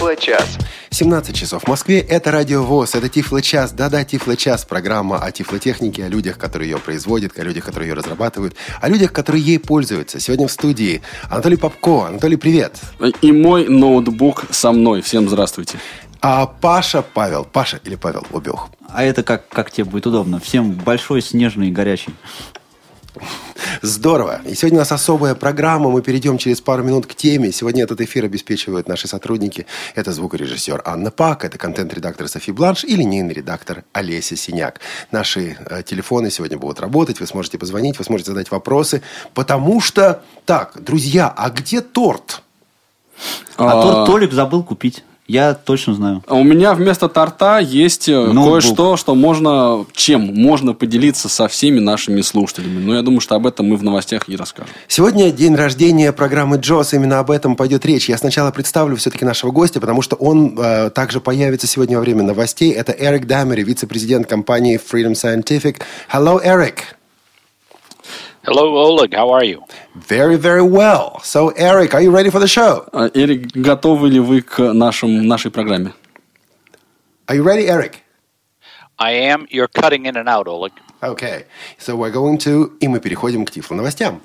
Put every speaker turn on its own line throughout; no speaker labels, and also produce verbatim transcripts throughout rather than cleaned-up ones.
Тифло-час.
семнадцать часов в Москве. Это Радио ВОС. Это Тифло-час. Да-да, Тифло-час. Программа о тифлотехнике, о людях, которые ее производят, о людях, которые ее разрабатывают, о людях, которые ей пользуются. Сегодня в студии Анатолий Попко. Анатолий, привет.
И мой ноутбук со мной. Всем здравствуйте.
А Паша Павел. Паша или Павел Лобёх.
А это как, как тебе будет удобно. Всем большой, снежный и горячий.
Здорово. И сегодня у нас особая программа. Мы перейдем через пару минут к теме. Сегодня этот эфир обеспечивают наши сотрудники. Это звукорежиссер Анна Пак, это контент-редактор Софи Бланш и линейный редактор Олеся Синяк. Наши э, телефоны сегодня будут работать. Вы сможете позвонить, вы сможете задать вопросы. Потому что... Так, друзья, а где торт?
А, а торт Толик забыл купить. Я точно знаю.
У меня вместо торта есть
ноутбук.
Кое-что, что можно, чем можно поделиться со всеми нашими слушателями. Но я думаю, что об этом мы в новостях и расскажем.
Сегодня день рождения программы Джос. Именно об этом пойдет речь. Я сначала представлю все-таки нашего гостя, потому что он э, также появится сегодня во время новостей. Это Эрик Дамери, вице-президент компании Freedom Scientific. Hello, Eric.
Hello, Oleg. How are you?
Very, very well. So, Eric, are you ready for the show?
Эрик, готовы ли вы к нашим, нашей программе?
Are you ready, Eric?
I am. You're cutting in and out, Oleg.
Okay. So, we're going to... И мы переходим к Тифло новостям.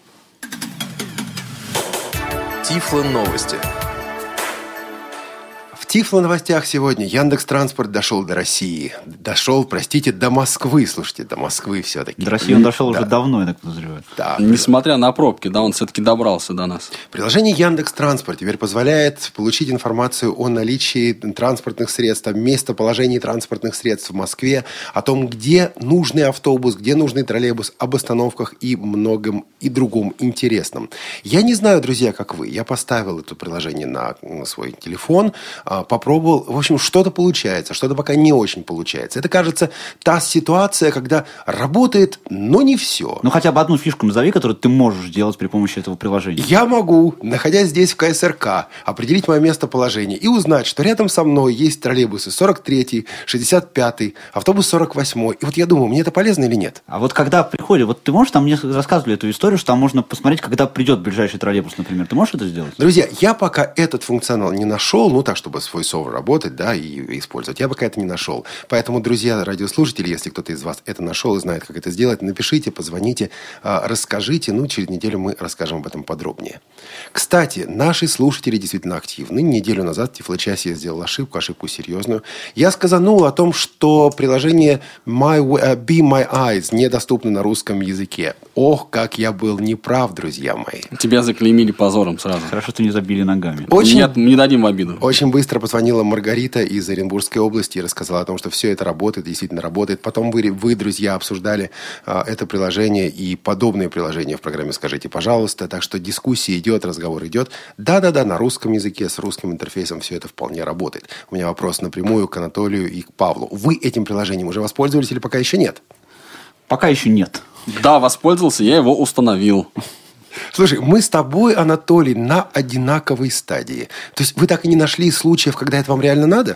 Тифло новости.
В Тифло новостях сегодня Яндекс.Транспорт дошел до России. Дошел, простите, до Москвы. Слушайте, до Москвы все-таки.
До России он дошел
да.
уже давно, я так подозреваю.
Да.
Несмотря на пробки, да, он все-таки добрался до нас.
Приложение Яндекс.Транспорт теперь позволяет получить информацию о наличии транспортных средств, о местоположении транспортных средств в Москве, о том, где нужный автобус, где нужный троллейбус, об остановках и многом и другом интересном. Я не знаю, друзья, как вы. Я поставил это приложение на свой телефон, попробовал. В общем, что-то получается, что-то пока не очень получается. Это, кажется, та ситуация, когда работает, но не все.
Ну, хотя бы одну фишку назови, которую ты можешь делать при помощи этого приложения.
Я могу, находясь здесь в ка эс эр ка, определить мое местоположение и узнать, что рядом со мной есть троллейбусы сорок третий, шестьдесят пятый, автобус сорок восьмой. И вот я думаю, мне это полезно или нет?
А вот когда приходит, вот ты можешь, там мне рассказывали эту историю, что там можно посмотреть, когда придет ближайший троллейбус, например. Ты можешь это сделать?
Друзья, я пока этот функционал не нашел, ну так, чтобы с voiceover работать, да, и использовать. Я пока это не нашел. Поэтому, друзья, радиослушатели, если кто-то из вас это нашел и знает, как это сделать, напишите, позвоните, расскажите. Ну, через неделю мы расскажем об этом подробнее. Кстати, наши слушатели действительно активны. Неделю назад в Тифло-часе я сделал ошибку, ошибку серьезную. Я сказанул о том, что приложение My, uh, Be My Eyes недоступно на русском языке. Ох, как я был неправ, друзья мои.
Тебя заклеймили позором сразу.
Хорошо, что не забили ногами.
Очень...
Нет, не дадим в обиду.
Очень быстро позвонила Маргарита из Оренбургской области и рассказала о том, что все это работает, действительно работает. Потом вы, вы друзья, обсуждали а, это приложение и подобные приложения в программе «Скажите, пожалуйста». Так что дискуссия идет, разговор идет. Да-да-да, на русском языке, с русским интерфейсом все это вполне работает. У меня вопрос напрямую к Анатолию и к Павлу. Вы этим приложением уже воспользовались или пока еще нет?
Пока еще нет.
Да, воспользовался, я его установил.
Слушай, мы с тобой, Анатолий, на одинаковой стадии. То есть вы так и не нашли случаев, когда это вам реально надо?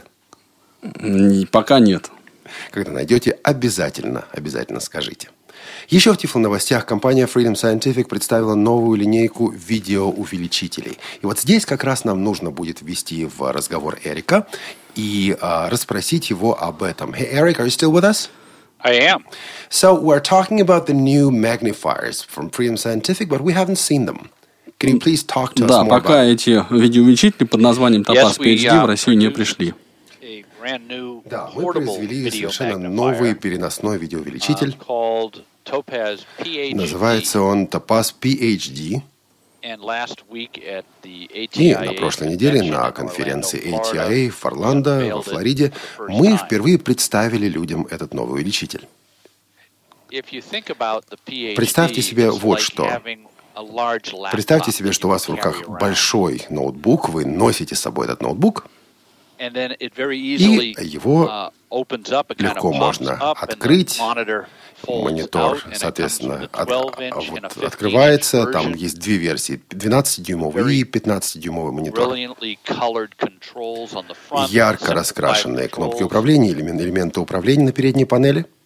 Пока нет.
Когда найдете, обязательно, обязательно скажите. Еще в Тифло новостях компания Freedom Scientific представила новую линейку видеоувеличителей. И вот здесь как раз нам нужно будет ввести в разговор Эрика и а, расспросить его об этом. Hey, Eric, are you still with us?
I am.
So we're talking about the new magnifiers from Freedom Scientific, but we haven't seen them. Can you please talk to us
Да,
more
пока
about
эти видеоувеличители под названием Topaz
Yes, we,
пи эйч ди
uh,
в Россию не пришли.
A brand new
Да, мы
portable
произвели
video
совершенно
magnifier,
новый переносной
uh,
видеоувеличитель.
called Topaz пи эйч ди.
Называется он Topaz пи эйч ди.
And last week at the
И
A T I A
на прошлой неделе
convention
на
in
конференции
Orlando,
эй ти
Florida,
ай эй в Орландо,
we
во
unveiled it
Флориде,
for the first
мы
time.
впервые представили людям этот новый увеличитель.
If you think about the пи эйч ди,
Представьте себе
it's
вот
like
что.
having a large laptop
Представьте себе,
that
что у
you
вас в
can
руках
carry around.
большой ноутбук, вы носите с собой этот ноутбук,
And then it very
и
easily,
его
uh, opens up, it kind of
легко
pops
можно
up, and the
открыть.
monitor folds
Монитор,
out, and it comes
соответственно,
with a
от-
twelve inch and a
вот
fifteen inch
открывается. Там
version.
есть две версии: двенадцатидюймовый и пятнадцатидюймовый монитор.
Brilliantly colored controls on the front,
Ярко
simplified
раскрашенные кнопки
controls.
управления, элемен- элементы управления на передней панели.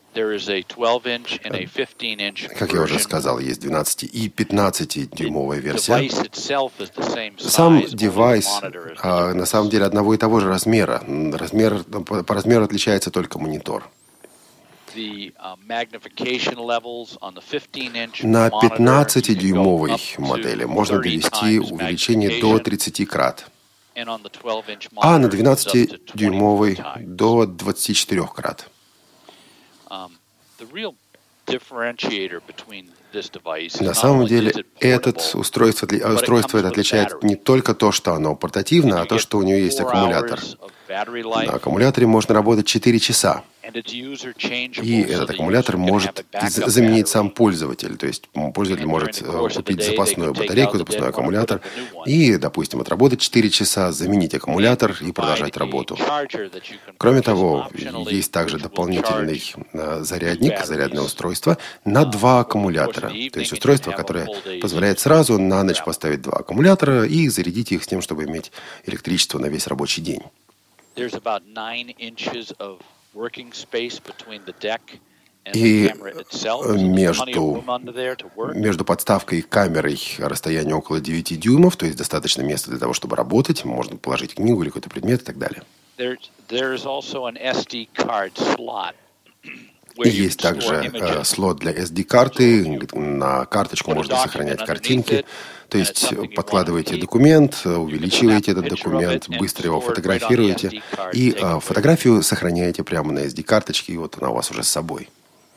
there is a twelve inch and a fifteen inch
Как я уже
version.
сказал, есть двенадцати- и пятнадцатидюймовая версия.
Device itself is the same
Сам
size, only the
девайс
monitor is
а, на самом деле одного и того же размера. Размер, по, по размеру отличается только монитор.
the uh, magnification levels on the fifteen inch
На
monitor, you can go
пятнадцатидюймовой
up to
модели можно
thirty
довести
times
увеличение до
magnification,
тридцати крат,
and on the twelve inch
а на
monitor, it goes up to
двенадцатидюймовой
twenty-four times.
до двадцати четырёх крат.
Um, the real differentiator between this device is
На
not
самом
only
деле,
is it
этот
portable,
устройство, отли-
but it
устройство
comes
это
with
отличает
battery.
не только то, что оно портативно, а
You
то,
get
что у нее есть
four
аккумулятор.
hours of battery
На
life,
аккумуляторе можно работать четыре часа.
and it's user changeable,
И
so
этот
the
аккумулятор
user can
может
have a backup
заменить
battery.
сам пользователь. То есть м, пользователь
And
может
during the
э,
course of the
купить
day,
запасную
they can take
батарейку,
out the
запасной
dead one,
аккумулятор
put in the new one.
и, допустим, отработать четыре часа, заменить аккумулятор и продолжать работу. Кроме того, есть также дополнительный э, зарядник, зарядное устройство на два аккумулятора. То есть устройство, которое позволяет сразу на ночь поставить два аккумулятора и зарядить их с тем, чтобы иметь электричество на весь рабочий день.
There's about nine inches of working space between the deck and
И
the camera itself. So there's plenty of
между,
room under there to work.
между подставкой и камерой расстояние около девяти дюймов, то есть достаточно места для того, чтобы работать. Можно положить книгу или какой-то предмет и так далее.
There's, there's also an эс ди card slot.
И есть также э, слот для эс ди-карты. На карточку можно сохранять картинки. То есть подкладываете документ, увеличиваете этот документ, быстро его фотографируете. И э, фотографию сохраняете прямо на эс ди-карточке, и вот она у вас уже с собой.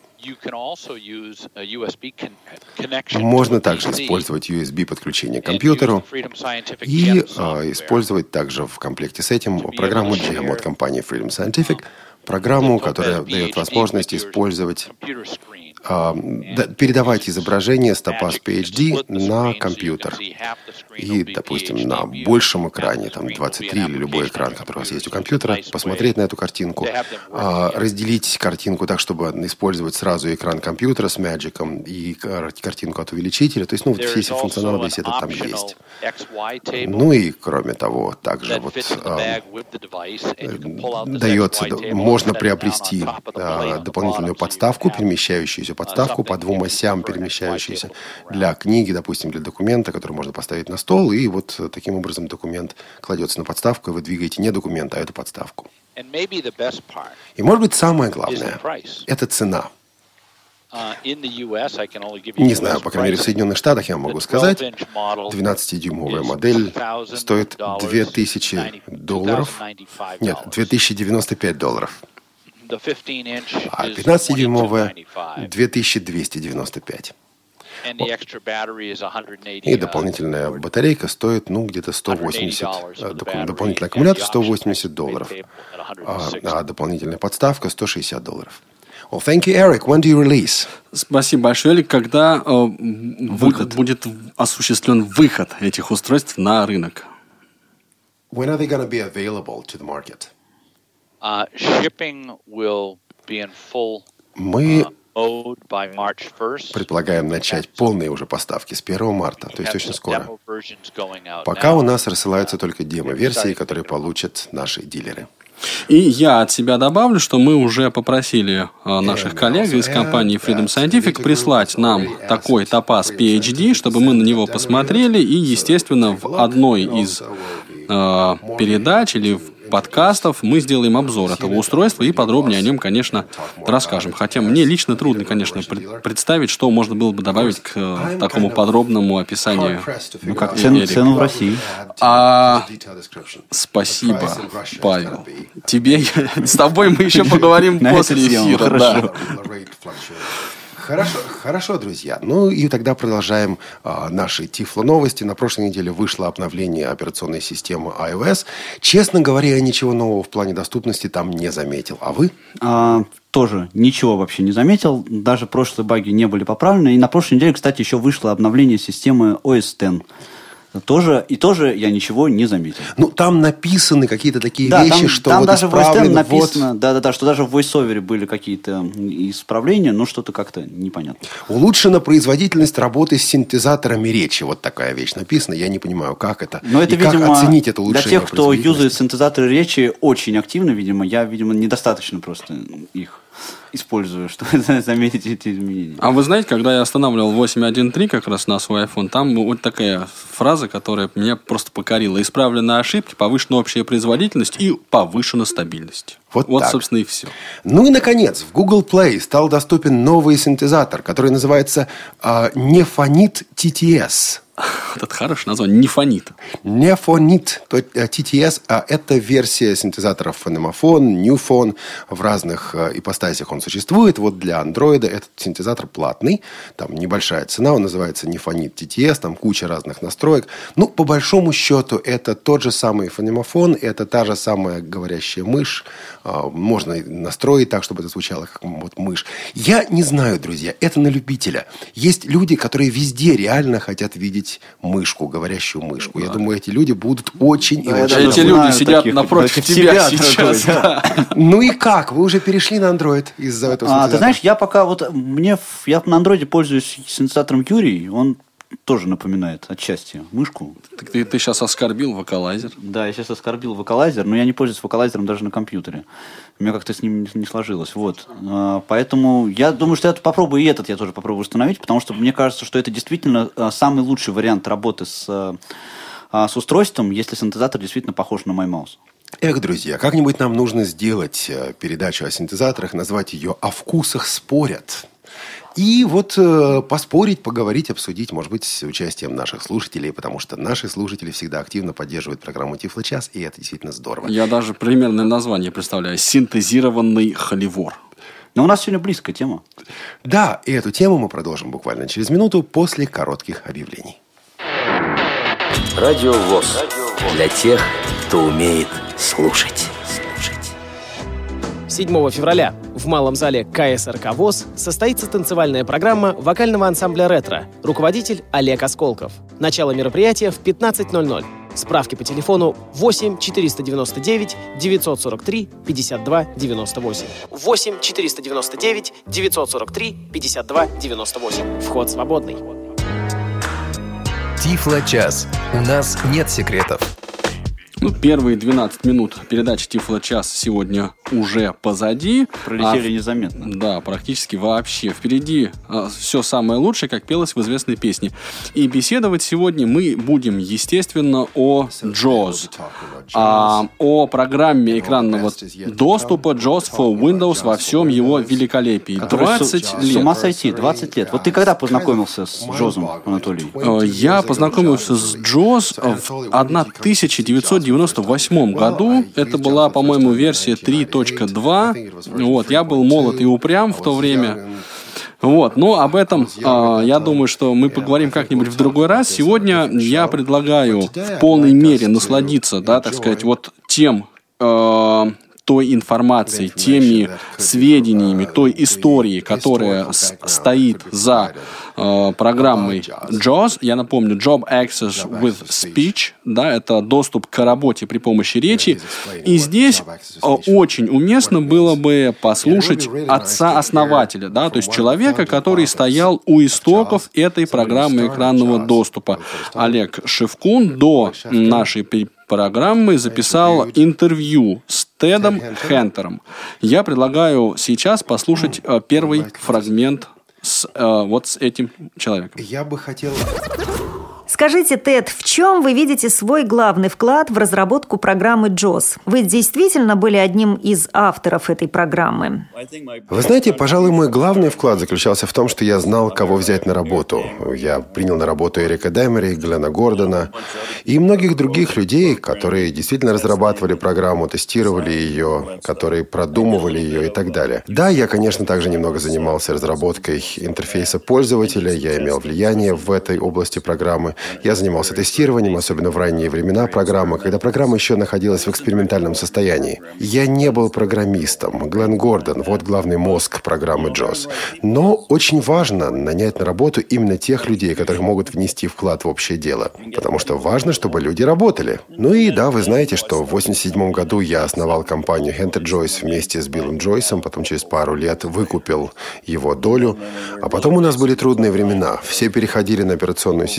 Можно также использовать ю эс би-подключение к компьютеру и э, использовать также в комплекте с этим программу джем от компании Freedom Scientific, программу, которая дает возможность использовать, э, да, передавать изображение с топаз пи эйч ди на компьютер. И, допустим, на большем экране, там двадцать три или любой экран, который у вас есть у компьютера, посмотреть на эту картинку, э, разделить картинку так, чтобы использовать сразу экран компьютера с Magic и картинку от увеличителя. То есть, ну, вот все эти функционалы, весь этот там есть. Ну и, кроме того, также вот э, дается, можно приобрести э, дополнительную подставку, перемещающуюся подставку по двум осям, перемещающуюся для книги, допустим, для документа, который можно поставить на стол, и вот таким образом документ кладется на подставку, и вы двигаете не документ, а эту подставку. И, может быть, самое главное – это цена. Не знаю, по крайней мере, в Соединенных Штатах я могу сказать, двенадцатидюймовая модель стоит две тысячи долларов, нет, две тысячи девяносто пять долларов, а пятнадцатидюймовая – две тысячи двести девяносто пять. И дополнительная батарейка стоит, ну, где-то сто восемьдесят, дополнительный аккумулятор сто восемьдесят долларов, а, а дополнительная подставка сто шестьдесят долларов. Well, thank you, Eric. When do you release?
Спасибо большое, Эрик. Когда э, выход. будет осуществлен выход этих устройств на рынок?
When are they going to be available to the market?
Uh, shipping will be in full
Мы
uh, mode by March first.
предполагаем начать полные уже поставки с первого марта, то есть очень скоро.
Demo versions going out
Пока
now.
у нас рассылаются только демо-версии, которые получат наши дилеры.
И я от себя добавлю, что мы уже попросили э, наших коллег из компании Freedom Scientific прислать нам такой топаз пи эйч ди, чтобы мы на него посмотрели, и, естественно, в одной из э, передач или в подкастов мы сделаем обзор этого устройства и подробнее о нем, конечно, расскажем. Хотя мне лично трудно, конечно, пред- представить, что можно было бы добавить к э, такому подробному описанию.
Ну, как цену, цену в России.
А, спасибо, Павел. Тебе, с тобой мы еще поговорим
На
после
эту тему,
эфира.
хорошо.
Да.
Хорошо, хорошо, друзья. Ну и тогда продолжаем а, наши Тифло-новости. На прошлой неделе вышло обновление операционной системы iOS. Честно говоря, я ничего нового в плане доступности там не заметил. А вы?
А, тоже ничего вообще не заметил. Даже прошлые баги не были поправлены. И на прошлой неделе, кстати, еще вышло обновление системы о эс десять. Тоже, и тоже я ничего не заметил.
Ну, там написаны какие-то такие
Да,
вещи,
там,
что
там
вот
даже в о эс
исправлен,
десять написано,
вот...
да, да, да, что даже в VoiceOver были какие-то исправления, но что-то как-то непонятно.
Улучшена производительность работы с синтезаторами речи. Вот такая вещь написана. Я не понимаю, как это.
Но это,
и как
видимо,
оценить это
для
улучшение
тех, кто
производительности.
юзает синтезаторы речи очень активно, видимо, я, видимо, недостаточно просто их использую, чтобы заметить эти изменения.
А вы знаете, когда я останавливал восемь точка один точка три как раз на свой iPhone, там вот такая фраза, которая меня просто покорила. Исправлены ошибки, повышена общая производительность и повышена стабильность.
Вот,
вот
так.
собственно, и все.
Ну и, наконец, в Google Play стал доступен новый синтезатор, который называется э, Nephonit ти ти эс.
Это хорошее название. Nephonit.
Nephonit ти ти эс. А это версия синтезаторов Phonemophone, Newphone. В разных э, ипостасях он существует. Вот для Android этот синтезатор платный. Там небольшая цена. Он называется Nephonit ти ти эс. Там куча разных настроек. Ну, по большому счету, это тот же самый Phonemophone. Это та же самая говорящая мышь. Э, можно настроить так, чтобы это звучало как вот мышь. Я не знаю, друзья. Это на любителя. Есть люди, которые везде реально хотят видеть мышку, говорящую мышку. Да. Я думаю, эти люди будут очень
да,
и очень...
Эти люди сидят напротив тебя сейчас. Да.
Ну и как? Вы уже перешли на Android из-за этого
а, Ты знаешь, я пока вот... мне Я на Android пользуюсь синтезатором Юрий. Он тоже напоминает отчасти мышку.
Так ты, ты сейчас оскорбил вокалайзер.
Да, я сейчас оскорбил вокалайзер, но я не пользуюсь вокалайзером даже на компьютере. У меня как-то с ним не сложилось. Вот. Поэтому я думаю, что я попробую и этот я тоже попробую установить, потому что мне кажется, что это действительно самый лучший вариант работы с, с устройством, если синтезатор действительно похож на MyMouse.
Эх, друзья, как-нибудь нам нужно сделать передачу о синтезаторах, назвать ее «О вкусах спорят». И вот э, поспорить, поговорить, обсудить, может быть, с участием наших слушателей, потому что наши слушатели всегда активно поддерживают программу «Тифлочас», и это действительно здорово.
Я даже примерное название представляю. «Синтезированный холивор».
Но у нас сегодня близкая тема.
Да, и эту тему мы продолжим буквально через минуту после коротких объявлений.
Радио ВОС. Для тех, кто умеет слушать.
седьмого февраля в малом зале ка эс эр ка ВОС состоится танцевальная программа вокального ансамбля «Ретро». Руководитель Олег Осколков. Начало мероприятия в пятнадцать ноль ноль. Справки по телефону восемь четыреста девяносто девять девятьсот сорок три пятьдесят два девяносто восемь. восемь четыреста девяносто девять девятьсот сорок три пятьдесят два девяносто восемь. Вход свободный.
Тифлочас. У нас нет секретов.
Ну, первые двенадцать минут передачи «Тифлочас» сегодня уже позади.
Пролетели
а,
незаметно.
Да, практически вообще. Впереди а, все самое лучшее, как пелось в известной песне. И беседовать сегодня мы будем, естественно, о джоз. А, о программе экранного доступа джоз for Windows во всем его великолепии. двадцать
с,
лет.
С ума сойти, двадцать лет. Вот ты когда познакомился с джозом, Анатолий?
Я познакомился с джоз в тысяча девятьсот девяносто восьмом году. Это была, по-моему, версия три точка два. Вот, я был молод и упрям в то время. Вот, но об этом, э, я думаю, что мы поговорим как-нибудь в другой раз. Сегодня я предлагаю в полной мере насладиться, да, так сказать, вот тем... Э, той информацией, теми сведениями, той историей, которая с- стоит за э, программой джоз. Я напомню, Job Access with Speech, да, это доступ к работе при помощи речи. И здесь э, очень уместно было бы послушать отца-основателя, да, то есть человека, который стоял у истоков этой программы экранного доступа. Олег Шевкун до нашей передачи программы записал интервью с Тедом Хентером. Я предлагаю сейчас послушать э, первый фрагмент с, э, вот с этим человеком.
Я бы хотел...
Скажите, Тед, в чем вы видите свой главный вклад в разработку программы джоз? Вы действительно были одним из авторов этой программы?
Вы знаете, пожалуй, мой главный вклад заключался в том, что я знал, кого взять на работу. Я принял на работу Эрика Демери, Глена Гордона и многих других людей, которые действительно разрабатывали программу, тестировали ее, которые продумывали ее и так далее. Да, я, конечно, также немного занимался разработкой интерфейса пользователя, я имел влияние в этой области программы. Я занимался тестированием, особенно в ранние времена программы, когда программа еще находилась в экспериментальном состоянии. Я не был программистом. Глен Гордон — вот главный мозг программы джоз. Но очень важно нанять на работу именно тех людей, которые могут внести вклад в общее дело. Потому что важно, чтобы люди работали. Ну и да, вы знаете, что в восемьдесят седьмом году я основал компанию Хентер Джойс вместе с Биллом Джойсом, потом через пару лет выкупил его долю. А потом у нас были трудные времена. Все переходили на операционную систему Windows,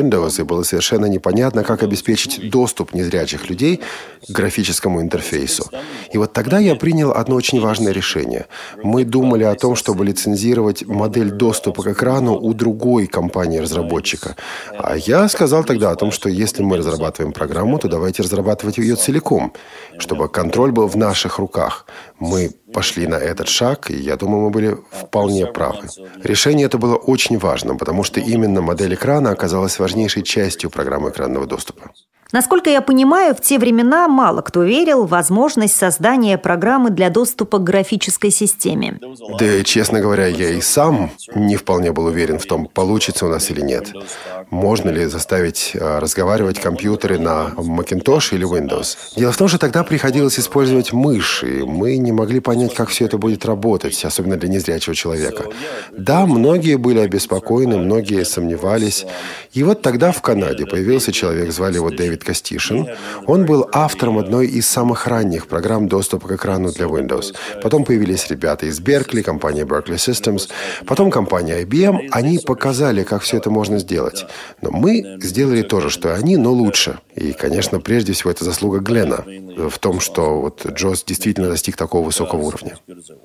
Windows, и было совершенно непонятно, как обеспечить доступ незрячих людей к графическому интерфейсу. И вот тогда я принял одно очень важное решение. Мы думали о том, чтобы лицензировать модель доступа к экрану у другой компании-разработчика. А я сказал тогда о том, что если мы разрабатываем программу, то давайте разрабатывать ее целиком, чтобы контроль был в наших руках. Мы пошли на этот шаг, и я думаю, мы были вполне правы. Решение это было очень важным, потому что именно модель экрана оказалась важнейшей частью программы экранного доступа.
Насколько я понимаю, в те времена мало кто верил в возможность создания программы для доступа к графической системе.
Да, честно говоря, я и сам не вполне был уверен в том, получится у нас или нет. Можно ли заставить а, разговаривать компьютеры на Macintosh или Windows? Дело в том, что тогда приходилось использовать мышь, и мы не могли понять, как все это будет работать, особенно для незрячего человека. Да, многие были обеспокоены, многие сомневались. И вот тогда в Канаде появился человек, звали его Дэвид Костишин. Он был автором одной из самых ранних программ доступа к экрану для Windows. Потом появились ребята из Беркли, компания Berkeley Systems, потом компания ай би эм. Они показали, как все это можно сделать. Но мы сделали то же, что и они, но лучше. И, конечно, прежде всего, это заслуга Глена в том, что вот джоз действительно достиг такого высокого уровня.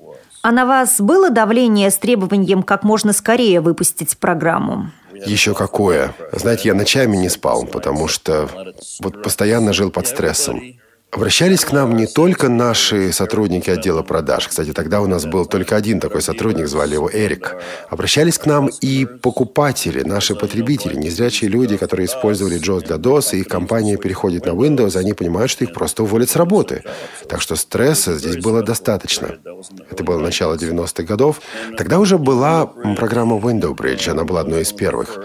А на вас было давление с требованием как можно скорее выпустить программу?
Еще какое. Знаете, я ночами не спал, потому что вот постоянно жил под стрессом. Обращались к нам не только наши сотрудники отдела продаж. Кстати, тогда у нас был только один такой сотрудник, звали его Эрик. Обращались к нам и покупатели, наши потребители, незрячие люди, которые использовали джоз для дос, и их компания переходит на Windows, они понимают, что их просто уволят с работы. Так что стресса здесь было достаточно. Это было начало девяностых годов. Тогда уже была программа Window Bridge, она была одной из первых.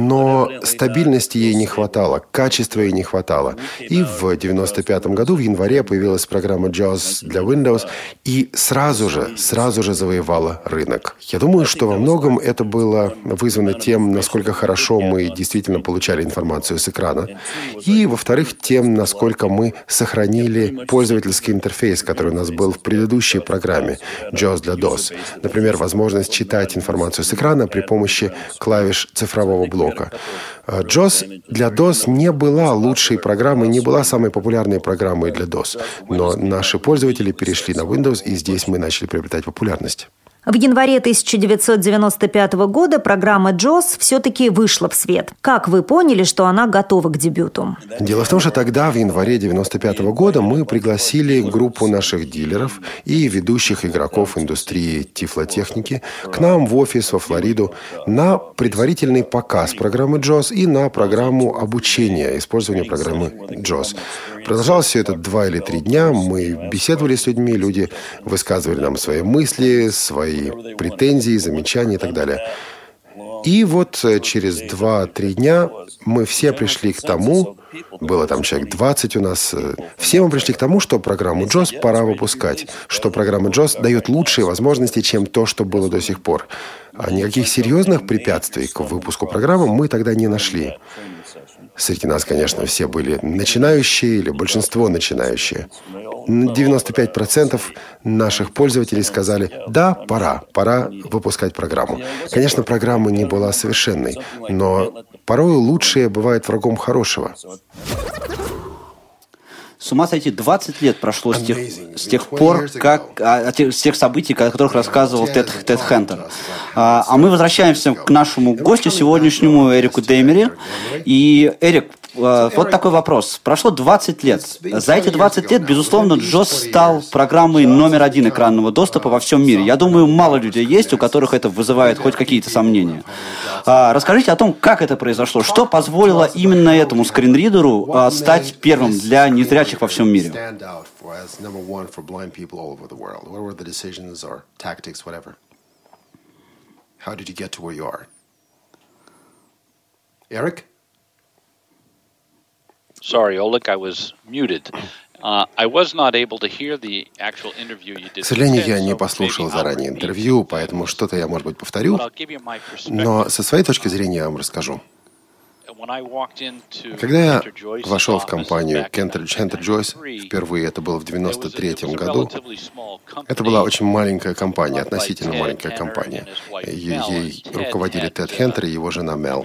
Но стабильности ей не хватало, качества ей не хватало. И в девяносто пятом году в январе появилась программа джоз для Windows и сразу же, сразу же завоевала рынок. Я думаю, что во многом это было вызвано тем, насколько хорошо мы действительно получали информацию с экрана. И, во-вторых, тем, насколько мы сохранили пользовательский интерфейс, который у нас был в предыдущей программе джоз для дос. Например, возможность читать информацию с экрана при помощи клавиш цифрового блока. джоз для дос не была лучшей программой, не была самой популярной программой для дос. Но наши пользователи перешли на Windows, и здесь мы начали приобретать популярность.
В январе тысяча девятьсот девяносто пятого года программа джоз все-таки вышла в свет. Как вы поняли, что она готова к дебюту?
Дело в том, что тогда, в январе девяносто пятого года, мы пригласили группу наших дилеров и ведущих игроков индустрии тифлотехники к нам в офис во Флориду на предварительный показ программы джоз и на программу обучения использования программы джоз. Продолжалось все это два или три дня. Мы беседовали с людьми, люди высказывали нам свои мысли, свои претензии, замечания и так далее. И вот через два-три дня мы все пришли к тому, было там человек двадцать у нас, все мы пришли к тому, что программу джоз пора выпускать, что программа джоз дает лучшие возможности, чем то, что было до сих пор. А никаких серьезных препятствий к выпуску программы мы тогда не нашли. Среди нас, конечно, все были начинающие или большинство начинающие. девяносто пять процентов наших пользователей сказали: да, пора, пора выпускать программу. Конечно, программа не была совершенной, но порой лучшее бывает врагом хорошего.
С ума сойти, двадцать лет прошло с тех, с тех пор, как, а, с тех событий, о которых рассказывал Тед, Тед Хентер. А, а мы возвращаемся к нашему гостю сегодняшнему, Эрику Деймери. И, Эрик, вот такой вопрос. Прошло двадцать лет. За эти двадцать лет, безусловно, джоз стал программой номер один экранного доступа во всем мире. Я думаю, мало людей есть, у которых это вызывает хоть какие-то сомнения. А, расскажите о том, как это произошло. Что позволило именно этому скринридеру а, стать первым для незрячих во всем мире?
Eric?
Sorry, Oleg, I was muted. Uh, I was not able to hear the actual interview you did.
К сожалению, я не послушал заранее интервью, поэтому что-то я, может быть, повторю. Но со своей точки зрения я вам расскажу. Когда я вошел в компанию Хентер Джойс, впервые это было в девяносто третьем году, это была очень маленькая компания, относительно маленькая компания. Ей руководили Тед Хентер и его жена Мел.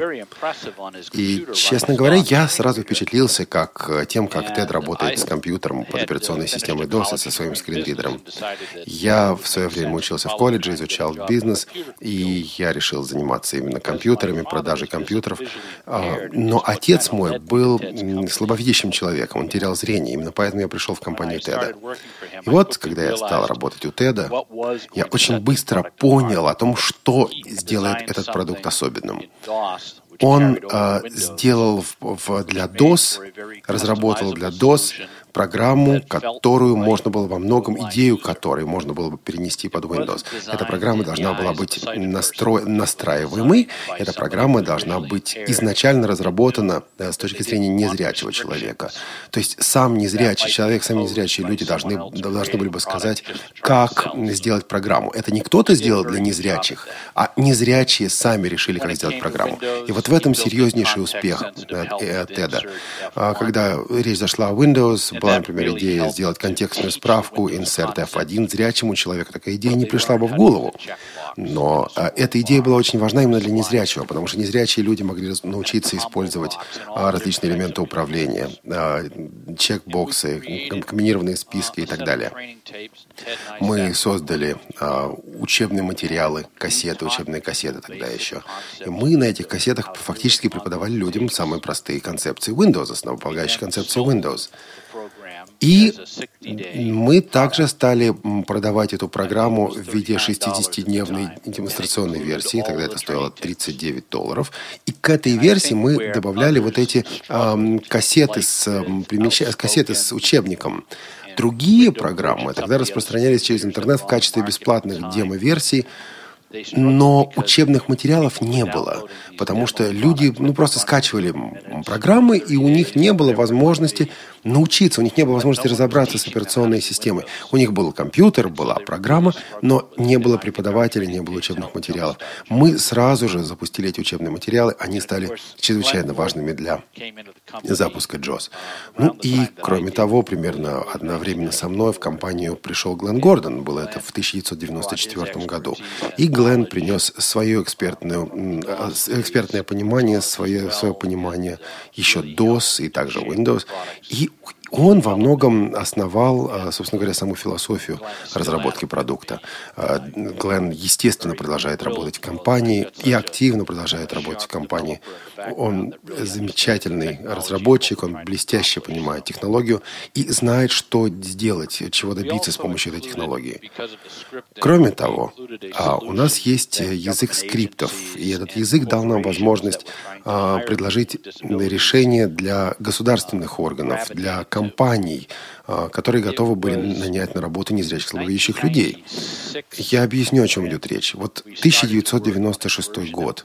И, честно говоря, я сразу впечатлился как тем, как Тед работает с компьютером под операционной системой дос и со своим скринридером. Я в свое время учился в колледже, изучал бизнес, и я решил заниматься именно компьютерами, продажей компьютеров. Но отец мой был слабовидящим человеком, он терял зрение, именно поэтому я пришел в компанию Теда. И вот, когда я стал работать у Теда, я очень быстро понял о том, что сделает этот продукт особенным. Он э, сделал в, в, для дос, разработал для дос программу, которую можно было во многом, идею которой можно было бы перенести под Windows. Эта программа должна была быть настро... настраиваемой. Эта программа должна быть изначально разработана с точки зрения незрячего человека. То есть сам незрячий человек, сами незрячие люди должны, должны были бы сказать, как сделать программу. Это не кто-то сделал для незрячих, а незрячие сами решили, как сделать программу. И вот в этом серьезнейший успех Теда. Когда речь зашла о Windows, была, например, идея сделать контекстную справку, insert эф один. Зрячему человеку такая идея не пришла бы в голову. Но а, эта идея была очень важна именно для незрячего, потому что незрячие люди могли научиться использовать а, различные элементы управления, а, чекбоксы, комбинированные списки и так далее. Мы создали а, учебные материалы, кассеты, учебные кассеты тогда еще. И мы на этих кассетах фактически преподавали людям самые простые концепции Windows, основополагающие концепции Windows. И мы также стали продавать эту программу в виде шестидесятидневной демонстрационной версии. Тогда это стоило тридцать девять долларов. И к этой версии мы добавляли вот эти э, кассеты, с, э, кассеты с учебником. Другие программы тогда распространялись через интернет в качестве бесплатных демо-версий. Но учебных материалов не было, потому что люди ну, просто скачивали программы, и у них не было возможности научиться, у них не было возможности разобраться с операционной системой. У них был компьютер, была программа, но не было преподавателей, не было учебных материалов. Мы сразу же запустили эти учебные материалы, они стали чрезвычайно важными для запуска джос. Ну и, кроме того, примерно одновременно со мной в компанию пришел Глен Гордон, было это в тысяча девятьсот девяносто четвёртом году. И Глен принес свое экспертное, экспертное понимание, свое, свое понимание еще дос и также Windows. И он во многом основал, собственно говоря, саму философию разработки продукта. Глен, естественно, продолжает работать в компании и активно продолжает работать в компании. Он замечательный разработчик, он блестяще понимает технологию и знает, что сделать, чего добиться с помощью этой технологии. Кроме того, у нас есть язык скриптов, и этот язык дал нам возможность предложить решения для государственных органов, для компаний, которые готовы были нанять на работу незрячих слабовидящих людей. Я объясню, о чем идет речь. Вот тысяча девятьсот девяносто шестой год.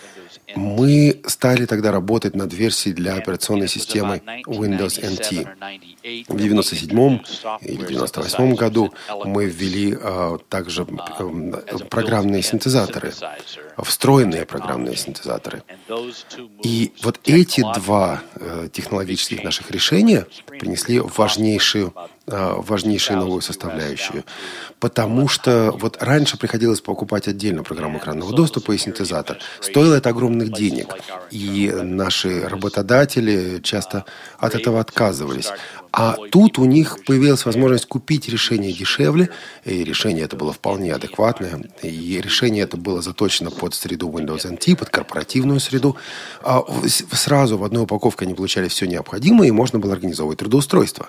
Мы стали тогда работать над версией для операционной системы Windows эн ти. В девяносто седьмом или девяносто восьмом году мы ввели а, также а, программные синтезаторы, встроенные программные синтезаторы. И вот эти два а, технологических наших решения принесли важнейшую важнейшую новую составляющую. Потому что вот раньше приходилось покупать отдельно программу экранного доступа и синтезатор. Стоило это огромных денег. И наши работодатели часто от этого отказывались. А тут у них появилась возможность купить решение дешевле, и решение это было вполне адекватное, и решение это было заточено под среду Windows эн ти, под корпоративную среду. Сразу в одной упаковке они получали все необходимое, и можно было организовывать трудоустройство.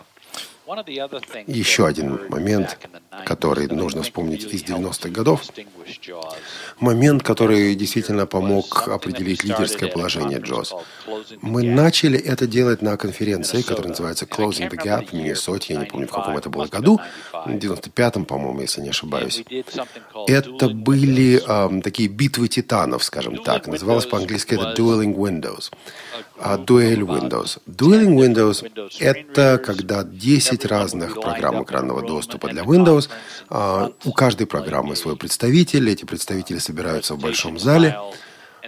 Еще один момент, который нужно вспомнить из девяностых годов. Момент, который действительно помог определить лидерское положение джос. Мы начали это делать на конференции, которая называется Closing the Gap в Миннесоте. Я не помню, в каком это было году. В девяносто пятом, по-моему, если не ошибаюсь. Это были э, такие битвы титанов, скажем так. Называлось по-английски это Dueling Windows. А Duel Windows. Dueling Windows — это когда десять разных программ экранного доступа для Windows. А, у каждой программы свой представитель. Эти представители собираются в большом зале.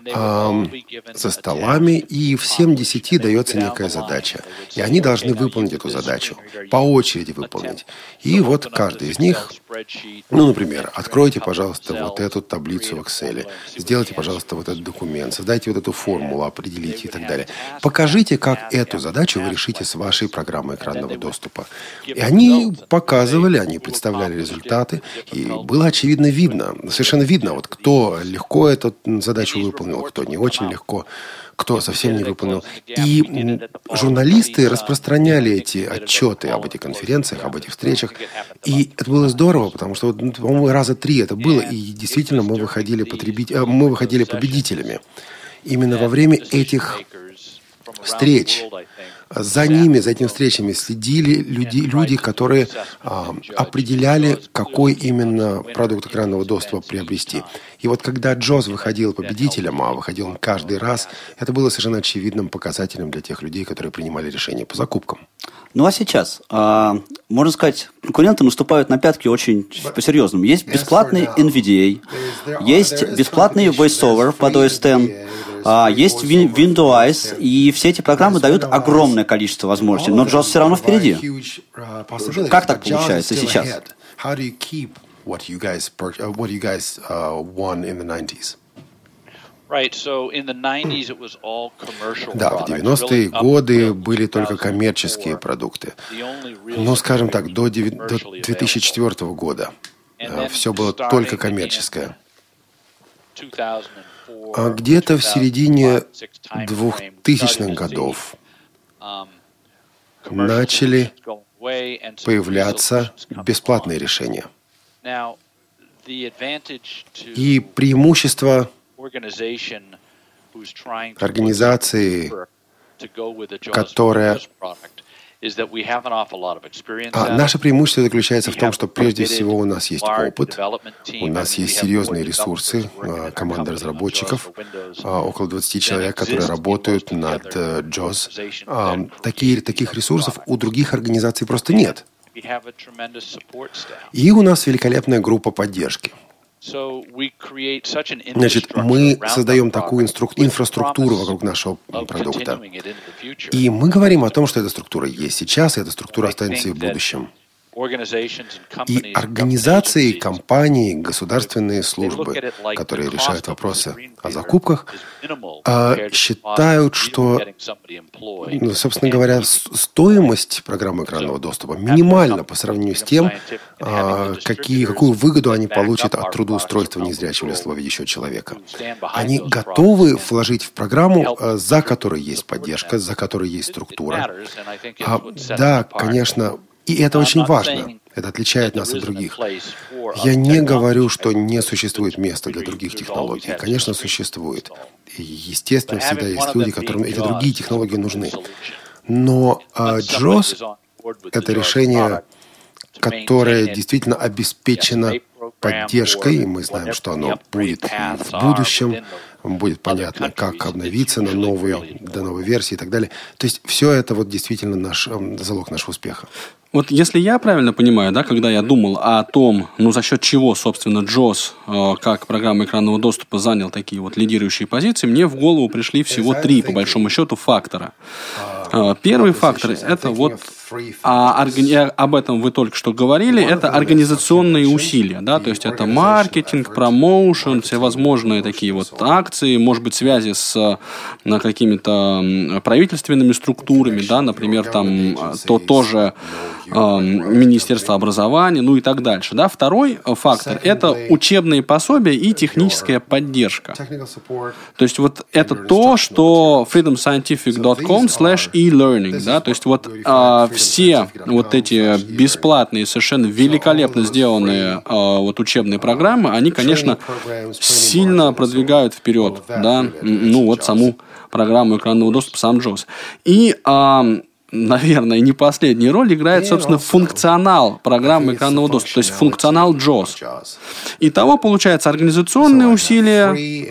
э, за столами, и всем десяти дается некая задача. И они должны выполнить эту задачу, по очереди выполнить. И вот каждый из них, ну, например, откройте, пожалуйста, вот эту таблицу в Excel, сделайте, пожалуйста, вот этот документ, создайте вот эту формулу, определите и так далее. Покажите, как эту задачу вы решите с вашей программой экранного доступа. И они показывали, они представляли результаты, и было очевидно видно, совершенно видно, вот кто легко эту задачу выполнил, кто не очень легко, кто совсем не выполнил. И журналисты распространяли эти отчеты об этих конференциях, об этих встречах. И это было здорово, потому что, по-моему, раза три это было, и действительно мы выходили, потребить... мы выходили победителями. Именно во время этих встреч. За ними, за этими встречами следили люди, люди которые а, определяли, какой именно продукт экранного доступа приобрести. И вот когда джоз выходил победителем, а выходил он каждый раз, это было совершенно очевидным показателем для тех людей, которые принимали решения по закупкам.
Ну а сейчас, а, можно сказать, конкуренты наступают на пятки очень по-серьезному. Есть бесплатный эн ви ди эй, есть бесплатный VoiceOver под о эс десять, а, есть Windows, и все эти программы дают огромное количество возможностей, но джоз все равно впереди. Как так получается сейчас?
Да, в девяностые годы были только коммерческие продукты. Ну, скажем так, до две тысячи четвёртого года все было только коммерческое. А где-то в середине двухтысячных годов начали появляться бесплатные решения. И преимущество организации, которая... А наше преимущество заключается в том, что прежде всего у нас есть опыт, у нас есть серьезные ресурсы, команда разработчиков, около двадцати человек, которые работают над джоз. Такие, таких ресурсов у других организаций просто нет. И у нас великолепная группа поддержки. Значит, мы создаем такую инструк... инфраструктуру вокруг нашего продукта. И мы говорим о том, что эта структура есть сейчас, и эта структура останется и в будущем. И организации, компании, государственные службы, которые решают вопросы о закупках, считают, что, собственно говоря, стоимость программы экранного доступа минимальна по сравнению с тем, какие, какую выгоду они получат от трудоустройства незрячего или слабовидящего человека. Они готовы вложить в программу, за которой есть поддержка, за которой есть структура. А, да, конечно, и это очень важно. Это отличает нас от других. Я не говорю, что не существует места для других технологий. Конечно, существует. И, естественно, всегда есть люди, которым эти другие технологии нужны. Но а, джоз — это решение, которое действительно обеспечено поддержкой, и мы знаем, что оно будет в будущем, будет понятно, как обновиться на новые, до новой версии и так далее. То есть все это вот действительно наш, залог нашего успеха.
Вот если я правильно понимаю, да, когда я думал о том, ну, за счет чего, собственно, джоз, э, как программа экранного доступа, занял такие вот лидирующие позиции, мне в голову пришли всего три, по большому счету, фактора. Э, первый фактор – это вот, а, органи... об этом вы только что говорили, это организационные усилия, да, то есть это маркетинг, промоушен, всевозможные такие вот акции, может быть, связи с на, какими-то правительственными структурами, да, например, там, то тоже Министерство образования, ну и так дальше. Да? Второй фактор – это учебные пособия и техническая поддержка. То есть вот это то, что freedom scientific dot com slash e-learning. Да? То есть вот а, все вот эти бесплатные, совершенно великолепно сделанные а, вот учебные программы, они, конечно, сильно продвигают вперед, да? Ну вот саму программу экранного доступа, сам джоз. И а, наверное, не последнюю роль играет, собственно, функционал программы экранного доступа, то есть функционал джоз. Итого, получается, организационные усилия,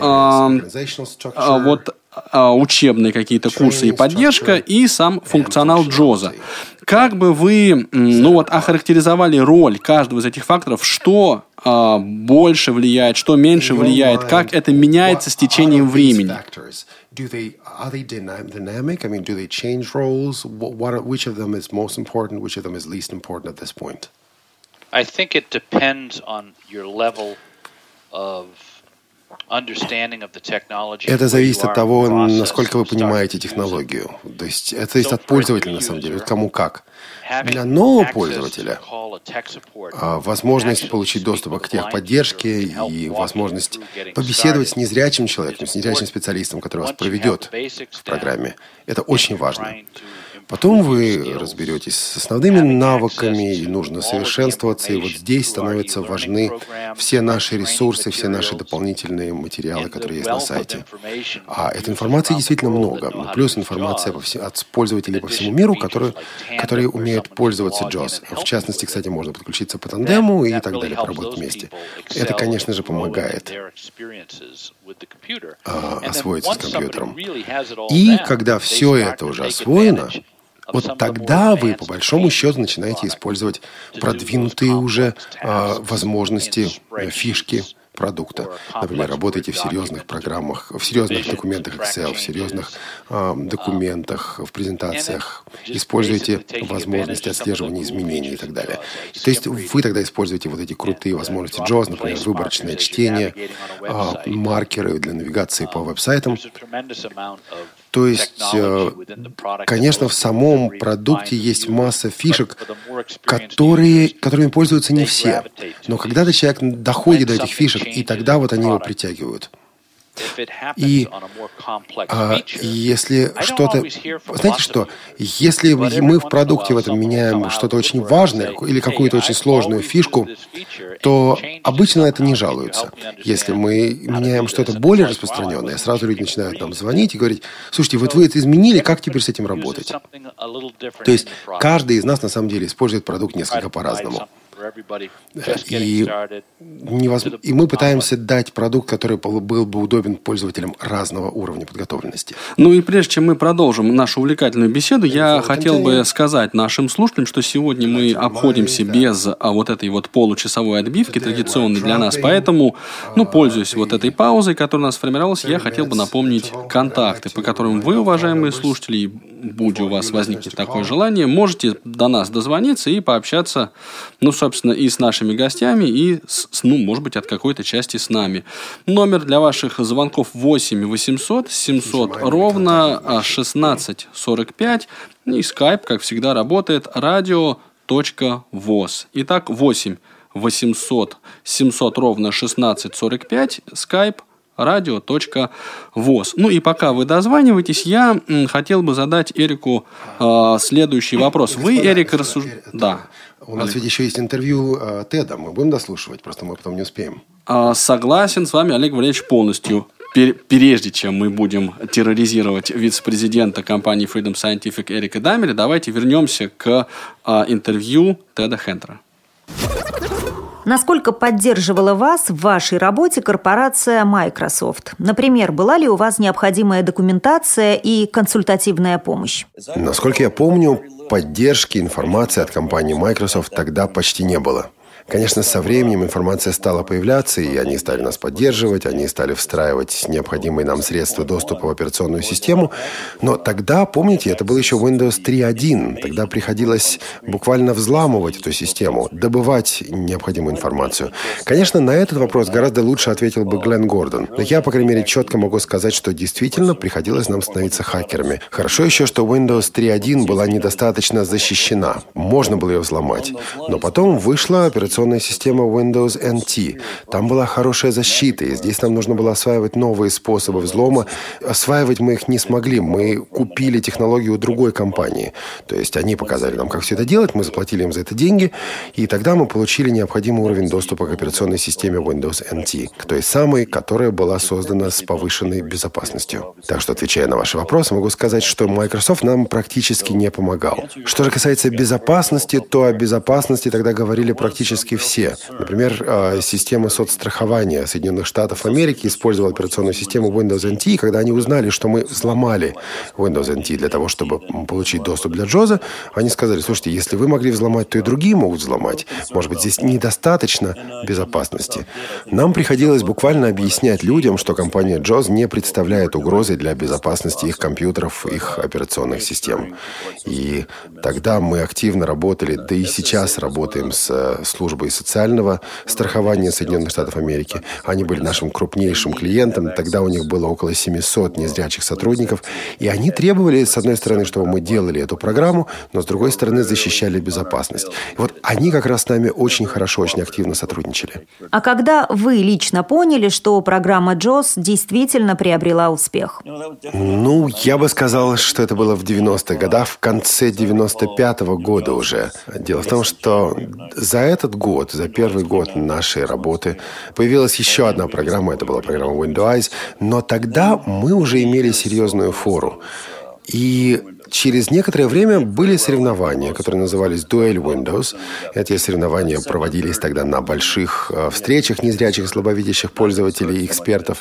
э, э, вот, э, учебные какие-то курсы и поддержка, и сам функционал джоза. Как бы вы, ну вот, охарактеризовали роль каждого из этих факторов, что а, больше влияет, что меньше влияет, как это меняется с течением времени.
Do they, are they dynamic? I mean, do they change roles? What, are, which of them is most important? Which of them is least important at this point?
I think it depends on your level of understanding of the technology.
Это зависит от того, насколько вы понимаете технологию. То есть это зависит от пользователя, на самом деле, кому как. Для нового пользователя возможность получить доступ к техподдержке и возможность побеседовать с незрячим человеком, с незрячим специалистом, который вас проведет в программе, это очень важно. Потом вы разберетесь с основными навыками, и нужно совершенствоваться, и вот здесь становятся важны все наши ресурсы, все наши дополнительные материалы, которые есть на сайте. А этой информации действительно много. Плюс информация от пользователей по всему миру, которые, которые умеют пользоваться джоз. В частности, кстати, можно подключиться по тандему и так далее, поработать вместе. Это, конечно же, помогает а, освоиться с компьютером. И когда все это уже освоено, вот тогда вы, по большому счету, начинаете использовать продвинутые уже э, возможности, э, фишки продукта. Например, работаете в серьезных программах, в серьезных документах Excel, в серьезных э, документах, в презентациях. Используете возможности отслеживания изменений и так далее. То есть вы тогда используете вот эти крутые возможности джоз, например, выборочное чтение, э, маркеры для навигации по веб-сайтам. То есть, конечно, в самом продукте есть масса фишек, которые, которыми пользуются не все. Но когда-то человек доходит до этих фишек, и тогда вот они его притягивают. И а, если что-то... Знаете что? Если мы в продукте в этом меняем что-то очень важное или какую-то очень сложную фишку, то обычно это не жалуются. Если мы меняем что-то более распространенное, сразу люди начинают нам звонить и говорить: слушайте, вот вы это изменили, как теперь с этим работать? То есть каждый из нас на самом деле использует продукт несколько по-разному. И, невозможно, и мы пытаемся дать продукт, который был бы удобен пользователям разного уровня подготовленности.
Ну и прежде чем мы продолжим нашу увлекательную беседу, я хотел бы сказать нашим слушателям, что сегодня мы обходимся без а, вот этой вот получасовой отбивки, традиционной для нас. Поэтому, ну, пользуясь вот этой паузой, которая у нас сформировалась, я хотел бы напомнить контакты, по которым вы, уважаемые слушатели, будь у вас возникнет такое желание, можете до нас дозвониться и пообщаться, ну, собственно, и с нашими гостями, и, с, ну, может быть, от какой-то части с нами. Номер для ваших звонков восемь восемьсот семьсот ровно шестнадцать сорок пять. И скайп, как всегда, работает радио точка воз. Итак, восемь восемьсот семьсот ровно шестнадцать сорок пять. Скайп радио точка воз. Ну и пока вы дозваниваетесь, я м, хотел бы задать Эрику э, следующий вопрос. Вы, Эрик, рассуждаете... Да.
У нас ведь еще есть интервью э, Теда. Мы будем дослушивать, просто мы потом не успеем.
Э, согласен с вами, Олег Валерьевич, полностью. Прежде чем мы будем терроризировать вице-президента компании Freedom Scientific Эрика Дамеля, давайте вернемся к э, интервью Теда Хентера.
Насколько поддерживала вас в вашей работе корпорация Microsoft? Например, была ли у вас необходимая документация и консультативная помощь?
Насколько я помню, поддержки информации от компании Microsoft тогда почти не было. Конечно, со временем информация стала появляться, и они стали нас поддерживать, они стали встраивать необходимые нам средства доступа в операционную систему. Но тогда, помните, это был еще Windows три точка один. Тогда приходилось буквально взламывать эту систему, добывать необходимую информацию. Конечно, на этот вопрос гораздо лучше ответил бы Глен Гордон. Но я, по крайней мере, четко могу сказать, что действительно приходилось нам становиться хакерами. Хорошо еще, что Windows три точка один была недостаточно защищена. Можно было ее взломать. Но потом вышла операционная система Windows эн ти. Там была хорошая защита, и здесь нам нужно было осваивать новые способы взлома. Осваивать мы их не смогли. Мы купили технологию у другой компании. То есть они показали нам, как все это делать, мы заплатили им за это деньги, и тогда мы получили необходимый уровень доступа к операционной системе Windows эн ти, к той самой, которая была создана с повышенной безопасностью. Так что, отвечая на ваши вопросы, могу сказать, что Microsoft нам практически не помогал. Что же касается безопасности, то о безопасности тогда говорили практически практически все. Например, система соцстрахования Соединенных Штатов Америки использовала операционную систему Windows эн ти. Когда они узнали, что мы взломали Windows эн ти для того, чтобы получить доступ для джоза, они сказали: слушайте, если вы могли взломать, то и другие могут взломать. Может быть, здесь недостаточно безопасности. Нам приходилось буквально объяснять людям, что компания джоз не представляет угрозы для безопасности их компьютеров, их операционных систем. И тогда мы активно работали, да и сейчас работаем с службой социального страхования Соединенных Штатов Америки. Они были нашим крупнейшим клиентом. Тогда у них было около семьсот незрячих сотрудников. И они требовали, с одной стороны, чтобы мы делали эту программу, но с другой стороны, защищали безопасность. И вот они как раз с нами очень хорошо, очень активно сотрудничали.
А когда вы лично поняли, что программа джоз действительно приобрела успех?
Ну, я бы сказал, что это было в девяностых годах, в конце девяносто пятого года уже. Дело в том, что за этот год, за первый год нашей работы, появилась еще одна программа, это была программа Windows, но тогда мы уже имели серьезную фору. И через некоторое время были соревнования, которые назывались Duel Windows. Эти соревнования проводились тогда на больших э, встречах незрячих и слабовидящих пользователей и экспертов.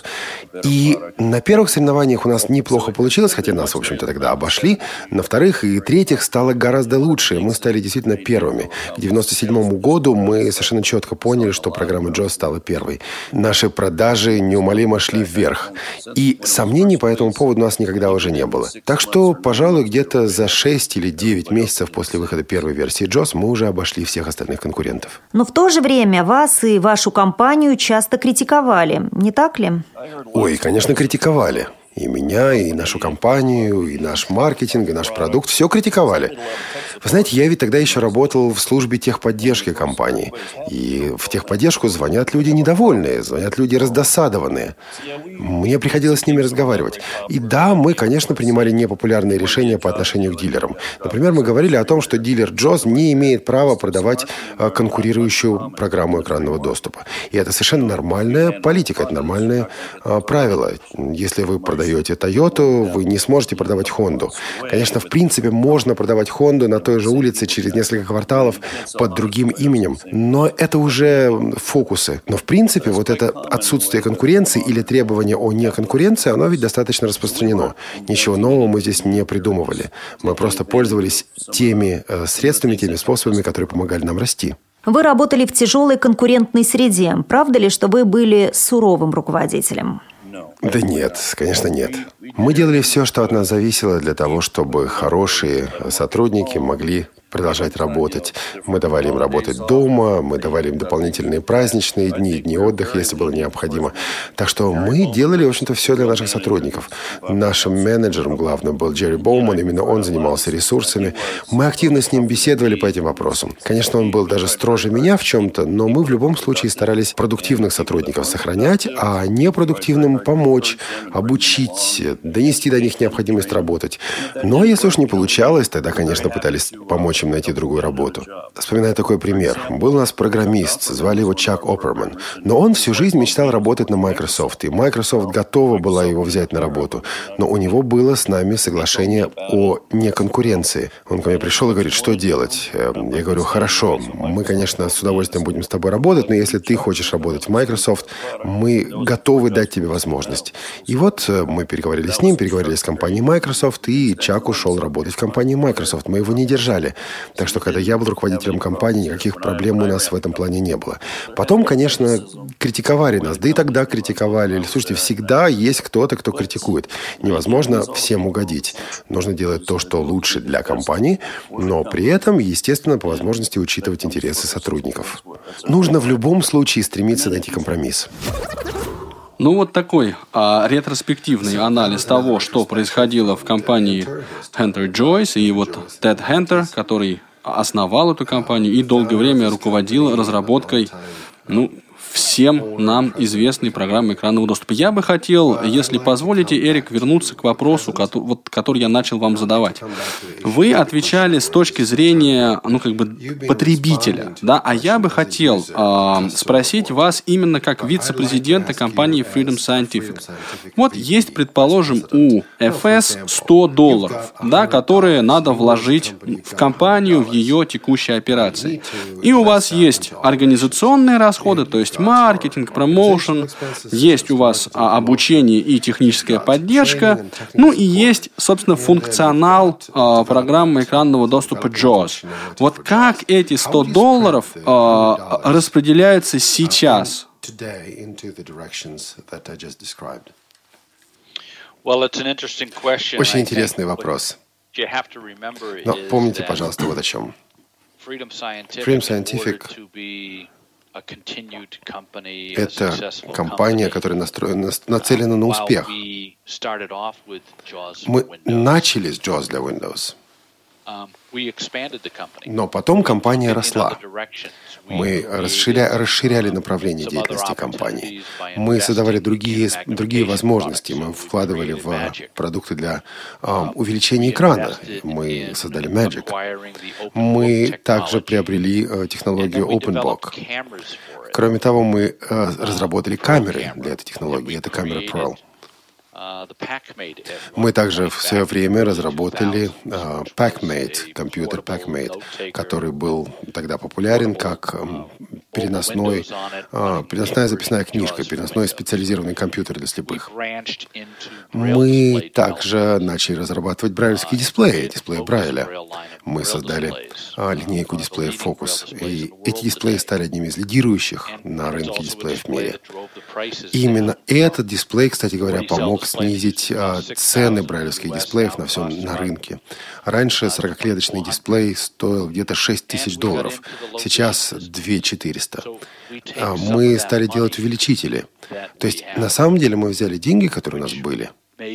И на первых соревнованиях у нас неплохо получилось, хотя нас, в общем-то, тогда обошли. На вторых и третьих стало гораздо лучше. Мы стали действительно первыми. К девяносто седьмому году мы совершенно четко поняли, что программа джоз стала первой. Наши продажи неумолимо шли вверх. И сомнений по этому поводу у нас никогда уже не было. Так что, пожалуй, где-то за шесть или девять месяцев после выхода первой версии джоз мы уже обошли всех остальных конкурентов.
Но в то же время вас и вашу компанию часто критиковали, не так ли?
Ой, конечно, критиковали. И меня, и нашу компанию, и наш маркетинг, и наш продукт. Все критиковали. Вы знаете, я ведь тогда еще работал в службе техподдержки компании. И в техподдержку звонят люди недовольные, звонят люди раздосадованные. Мне приходилось с ними разговаривать. И да, мы, конечно, принимали непопулярные решения по отношению к дилерам. Например, мы говорили о том, что дилер джоз не имеет права продавать конкурирующую программу экранного доступа. И это совершенно нормальная политика, это нормальное а, правило. Если вы продаете Toyota, вы не сможете продавать Honda. Конечно, в принципе, можно продавать Honda на той же улице через несколько кварталов под другим именем, но это уже фокусы. Но, в принципе, вот это отсутствие конкуренции или требование о неконкуренции, оно ведь достаточно распространено. Ничего нового мы здесь не придумывали. Мы просто пользовались теми э, средствами, теми способами, которые помогали нам расти.
Вы работали в тяжелой конкурентной среде. Правда ли, что вы были суровым руководителем?
Да нет, конечно, нет. Мы делали все, что от нас зависело, для того, чтобы хорошие сотрудники могли продолжать работать. Мы давали им работать дома, мы давали им дополнительные праздничные дни, дни отдыха, если было необходимо. Так что мы делали, в общем-то, все для наших сотрудников. Нашим менеджером главным был Джерри Боуман, именно он занимался ресурсами. Мы активно с ним беседовали по этим вопросам. Конечно, он был даже строже меня в чем-то, но мы в любом случае старались продуктивных сотрудников сохранять, а непродуктивным помочь, обучить, донести до них необходимость работать. Ну, а если уж не получалось, тогда, конечно, пытались помочь им найти другую работу. Вспоминаю такой пример. Был у нас программист, звали его Чак Оперман, но он всю жизнь мечтал работать на Microsoft, и Microsoft готова была его взять на работу, но у него было с нами соглашение о неконкуренции. Он ко мне пришел и говорит, что делать? Я говорю, хорошо, мы, конечно, с удовольствием будем с тобой работать, но если ты хочешь работать в Microsoft, мы готовы дать тебе возможность. И вот мы переговорили с ним, переговорили с компанией Microsoft, и Чак ушел работать в компании Microsoft. Мы его не держали. Так что, когда я был руководителем компании, никаких проблем у нас в этом плане не было. Потом, конечно, критиковали нас. Да и тогда критиковали. Слушайте, всегда есть кто-то, кто критикует. Невозможно всем угодить. Нужно делать то, что лучше для компании, но при этом, естественно, по возможности учитывать интересы сотрудников. Нужно в любом случае стремиться найти компромисс.
Ну, вот такой а, ретроспективный анализ того, что происходило в компании Hunter Joyce, и вот Тед Хантер, который основал эту компанию и долгое время руководил разработкой, ну, всем нам известной программы экранного доступа. Я бы хотел, если позволите, Эрик, вернуться к вопросу, который, вот, который я начал вам задавать. Вы отвечали с точки зрения, ну, как бы, потребителя, да, а я бы хотел э, спросить вас именно как вице-президента компании Freedom Scientific. Вот есть, предположим, у эф эс сто долларов, да, которые надо вложить в компанию, в ее текущей операции. И у вас есть организационные расходы, то есть маркетинг, промоушен, есть у вас а, обучение и техническая поддержка, ну и есть, собственно, функционал а, программы экранного доступа джоз. Вот как эти сто долларов а, распределяются сейчас?
Очень интересный вопрос. Но помните, пожалуйста, вот о чем.
Freedom
Freedom Scientific — это компания, которая настроена, нацелена на успех. Мы начали с джоз для Windows, но потом компания росла. Мы расширя, расширяли направление деятельности компании. Мы создавали другие, другие возможности. Мы вкладывали в продукты для um, увеличения экрана. Мы создали Magic. Мы также приобрели uh, технологию OpenBook. Кроме того, мы uh, разработали камеры для этой технологии. Это камера Pearl. Мы также в свое время разработали uh, PackMate, компьютер PackMate, который был тогда популярен как um, переносной, uh, переносная записная книжка, переносной специализированный компьютер для слепых. Мы также начали разрабатывать брайлевские дисплеи, дисплеи Брайля. Мы создали uh, линейку дисплеев Focus. И эти дисплеи стали одними из лидирующих на рынке дисплеев в мире. И именно этот дисплей, кстати говоря, помог снизить а, цены брайлевских дисплеев на всем на рынке. Раньше сорокаклеточный дисплей стоил где-то шесть тысяч долларов, сейчас две тысячи четыреста. А, мы стали делать увеличители. То есть, на самом деле, мы взяли деньги, которые у нас были,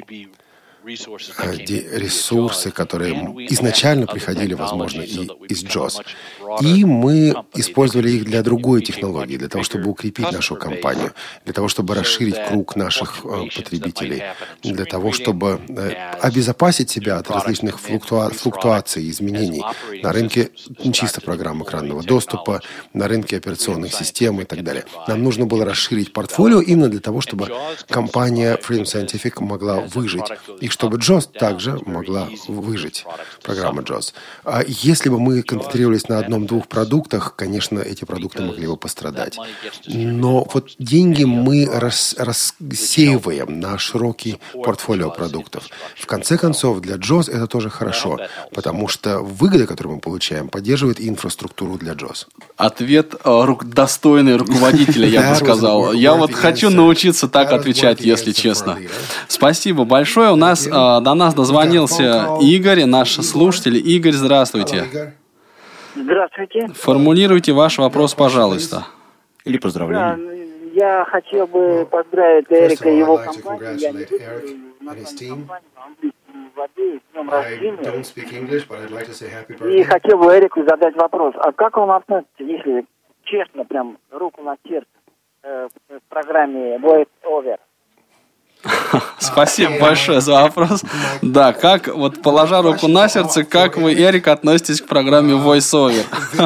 ресурсы, которые изначально приходили, возможно, и из джоз. И мы использовали их для другой технологии, для того, чтобы укрепить нашу компанию, для того, чтобы расширить круг наших потребителей, для того, чтобы обезопасить себя от различных флуктуа- флуктуаций, изменений на рынке чисто программ экранного доступа, на рынке операционных систем и так далее. Нам нужно было расширить портфолио именно для того, чтобы компания Freedom Scientific могла выжить, и чтобы джоз также могла выжить, программа джоз. А если бы мы концентрировались на одном-двух продуктах, конечно, эти продукты могли бы пострадать. Но вот деньги мы рас, рассеиваем на широкий портфолио продуктов. В конце концов, для джоз это тоже хорошо, потому что выгода, которую мы получаем, поддерживает инфраструктуру для джоз.
Ответ э, достойный руководителя, я бы сказал. Я вот хочу научиться так отвечать, если честно. Спасибо большое. У нас э, до нас дозвонился Игорь, наш слушатель. Игорь, здравствуйте.
Здравствуйте.
Формулируйте ваш вопрос, пожалуйста.
Или поздравления.
Да, я хотел бы поздравить Эрика и его компанию. Я не знаю, название компании по-английски владею, с днем рождения. И хотел бы Эрику задать вопрос. А как он относится, если честно, прям руку на сердце, э, к программе Voice Over?
Спасибо большое за вопрос. Да, как, вот положа руку на сердце, как вы, Эрик, относитесь к программе VoiceOver?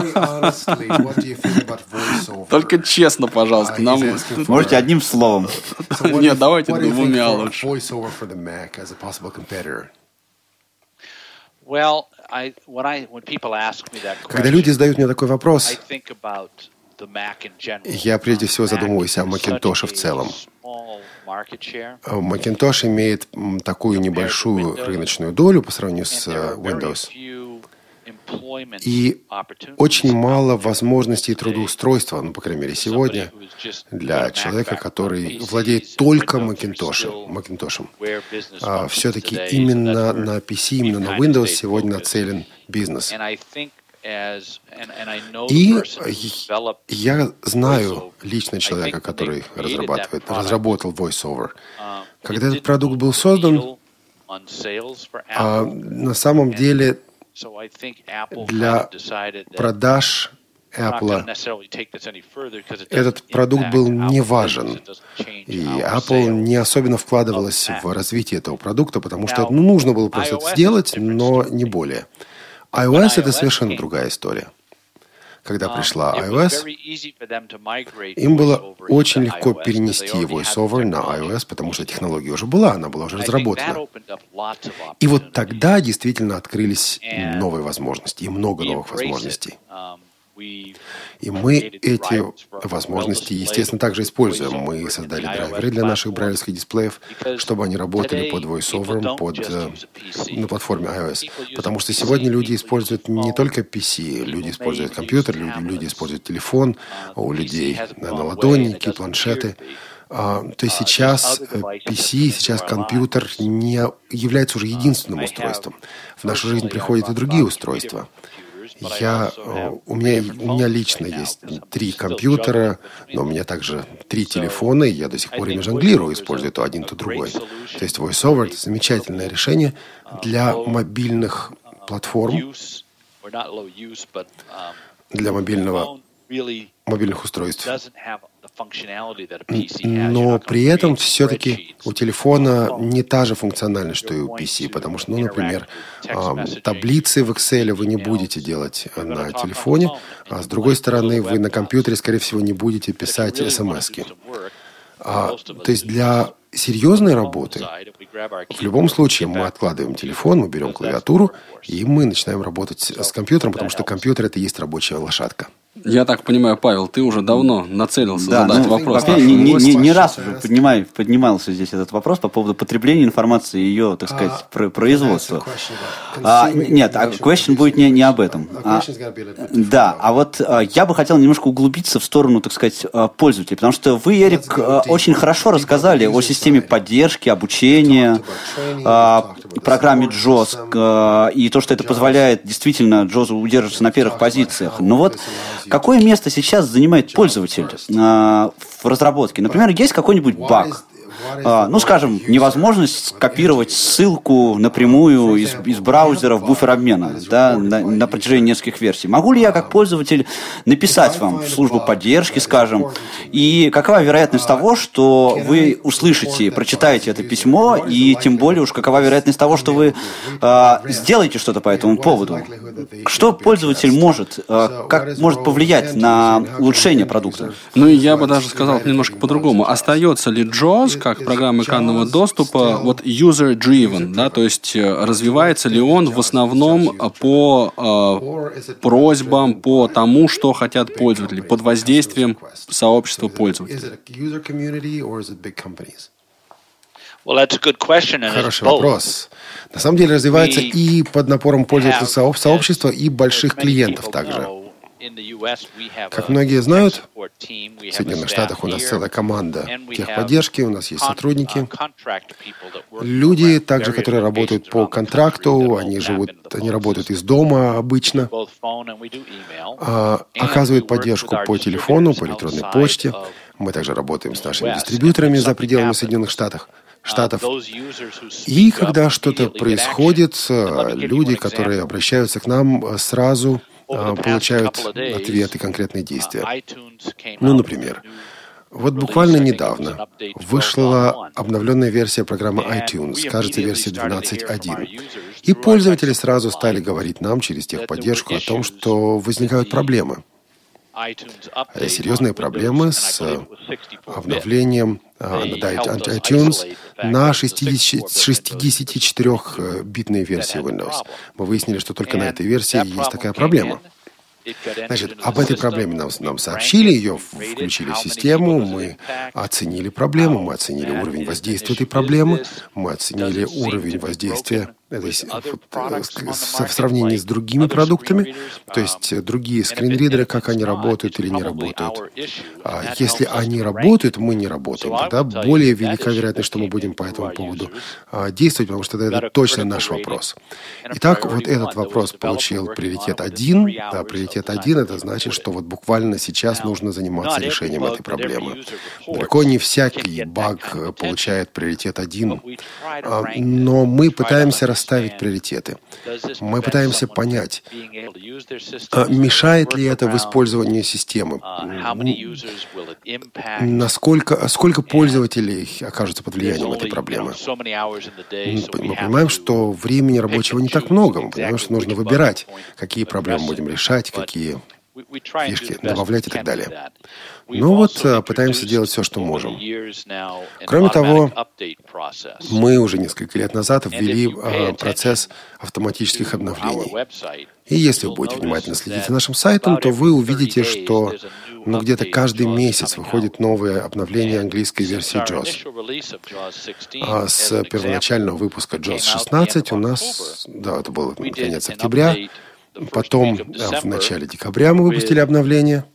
Только честно, пожалуйста. Нам...
Можете одним словом.
Нет, давайте двумя лучше.
Когда люди задают мне такой вопрос, я прежде всего задумываюсь о Macintosh в целом. Macintosh имеет такую небольшую рыночную долю по сравнению с Windows. И очень мало возможностей трудоустройства, ну, по крайней мере, сегодня, для человека, который владеет только Macintosh. Macintosh. А, все-таки именно на пи си, именно на Windows сегодня нацелен бизнес. И я знаю лично человека, который разрабатывает, разработал VoiceOver. Когда этот продукт был создан, а, на самом деле для продаж Apple этот продукт был не важен. И Apple не особенно вкладывалась в развитие этого продукта, потому что ну, нужно было просто это сделать, но не более. iOS — это совершенно другая история. Когда пришла iOS, им было очень легко перенести VoiceOver на iOS, потому что технология уже была, она была уже разработана. И вот тогда действительно открылись новые возможности, и много новых возможностей. И мы эти возможности, естественно, также используем. Мы создали драйверы для наших брайлевских дисплеев, чтобы они работали под VoiceOver, под, на платформе iOS. Потому что сегодня люди используют не только пи си, люди используют компьютер, люди, люди используют телефон, у людей наладонники, планшеты. То есть сейчас пи си, сейчас компьютер не является уже единственным устройством. В нашу жизнь приходят и другие устройства. Я, у, меня, у меня лично есть три компьютера, но у меня также три телефона, и я до сих пор ими жонглирую, использую то один, то другой. То есть VoiceOver — это замечательное решение для мобильных платформ, для мобильного, мобильных устройств. Но при этом все-таки у телефона не та же функциональность, что и у пи си, потому что, ну, например, таблицы в Excel вы не будете делать на телефоне, а с другой стороны, вы на компьютере, скорее всего, не будете писать смс-ки. А, то есть для серьезной работы в любом случае мы откладываем телефон, мы берем клавиатуру, и мы начинаем работать с компьютером, потому что компьютер — это и есть рабочая лошадка.
Я так понимаю, Павел, ты уже давно нацелился да, задать ну, вопрос.
Не, не, не, не раз уже поднимай, поднимался здесь этот вопрос по поводу потребления информации и ее, так сказать, uh, производства. А, нет, а question будет не, не об этом. А, да, а вот а, я бы хотел немножко углубиться в сторону, так сказать, пользователей, потому что вы, Эрик, очень хорошо рассказали о системе поддержки, обучения, а, программе джоз, а, и то, что это позволяет действительно джозу удерживаться на первых позициях. Но вот какое место сейчас занимает пользователь а, в разработке? Например, есть какой-нибудь баг? А, ну, скажем, невозможность скопировать ссылку напрямую из, из браузера в буфер обмена, да, на, на протяжении нескольких версий. Могу ли я, как пользователь, написать вам в службу поддержки, скажем, и какова вероятность того, что вы услышите, прочитаете это письмо, и тем более уж какова вероятность того, что вы а, сделаете что-то по этому поводу? Что пользователь может, а, как может повлиять на улучшение продукта?
Ну, и я бы даже сказал немножко по-другому. Остается ли джоз как программа экранного доступа вот user-driven, да, то есть развивается ли он в основном по э, просьбам, по тому, что хотят пользователи, под воздействием сообщества пользователей?
Хороший вопрос. На самом деле развивается и под напором пользовательского сообщества, и больших клиентов также. Как многие знают, в Соединенных Штатах у нас целая команда техподдержки, у нас есть сотрудники. Люди, также, которые работают по контракту, они живут, они работают из дома обычно, оказывают поддержку по телефону, по электронной почте. Мы также работаем с нашими дистрибьюторами за пределами Соединенных Штатов. Штатов. И когда что-то происходит, люди, которые обращаются к нам, сразу получают ответы, конкретные действия. Ну, например, вот буквально недавно вышла обновленная версия программы iTunes, кажется, версия двенадцать точка один. И пользователи сразу стали говорить нам через техподдержку о том, что возникают проблемы. Серьезные проблемы с обновлением iTunes на шестидесятичетырёхбитной версии Windows. Мы выяснили, что только на этой версии есть такая проблема. Значит, об этой проблеме нам, нам сообщили, ее включили в систему, мы оценили проблему, мы оценили уровень воздействия этой проблемы, мы оценили уровень воздействия этой, в сравнении с другими продуктами, то есть другие скринридеры, как они работают или не работают. Если они работают, мы не работаем, тогда более велика вероятность, что мы будем по этому поводу действовать, потому что это точно наш вопрос. Итак, вот этот вопрос получил приоритет один, да, приоритет один, это значит, что вот буквально сейчас нужно заниматься решением этой проблемы. Далеко не всякий баг получает приоритет один, но мы пытаемся расставить приоритеты. Мы пытаемся понять, Мешает ли это в использовании системы? Насколько, сколько пользователей окажутся под влиянием этой проблемы? Мы понимаем, что времени рабочего не так много. Мы понимаем, что нужно выбирать, какие проблемы будем решать, какие фишки добавлять и так далее. Ну вот, пытаемся делать все, что можем. Кроме того, мы уже несколько лет назад ввели э, процесс автоматических обновлений. И если вы будете внимательно следить за нашим сайтом, то вы увидите, что ну, где-то каждый месяц выходит новое обновление английской версии джоз. А с первоначального выпуска джоз шестнадцать у нас, да, это был конец октября, потом в начале декабря мы выпустили обновление.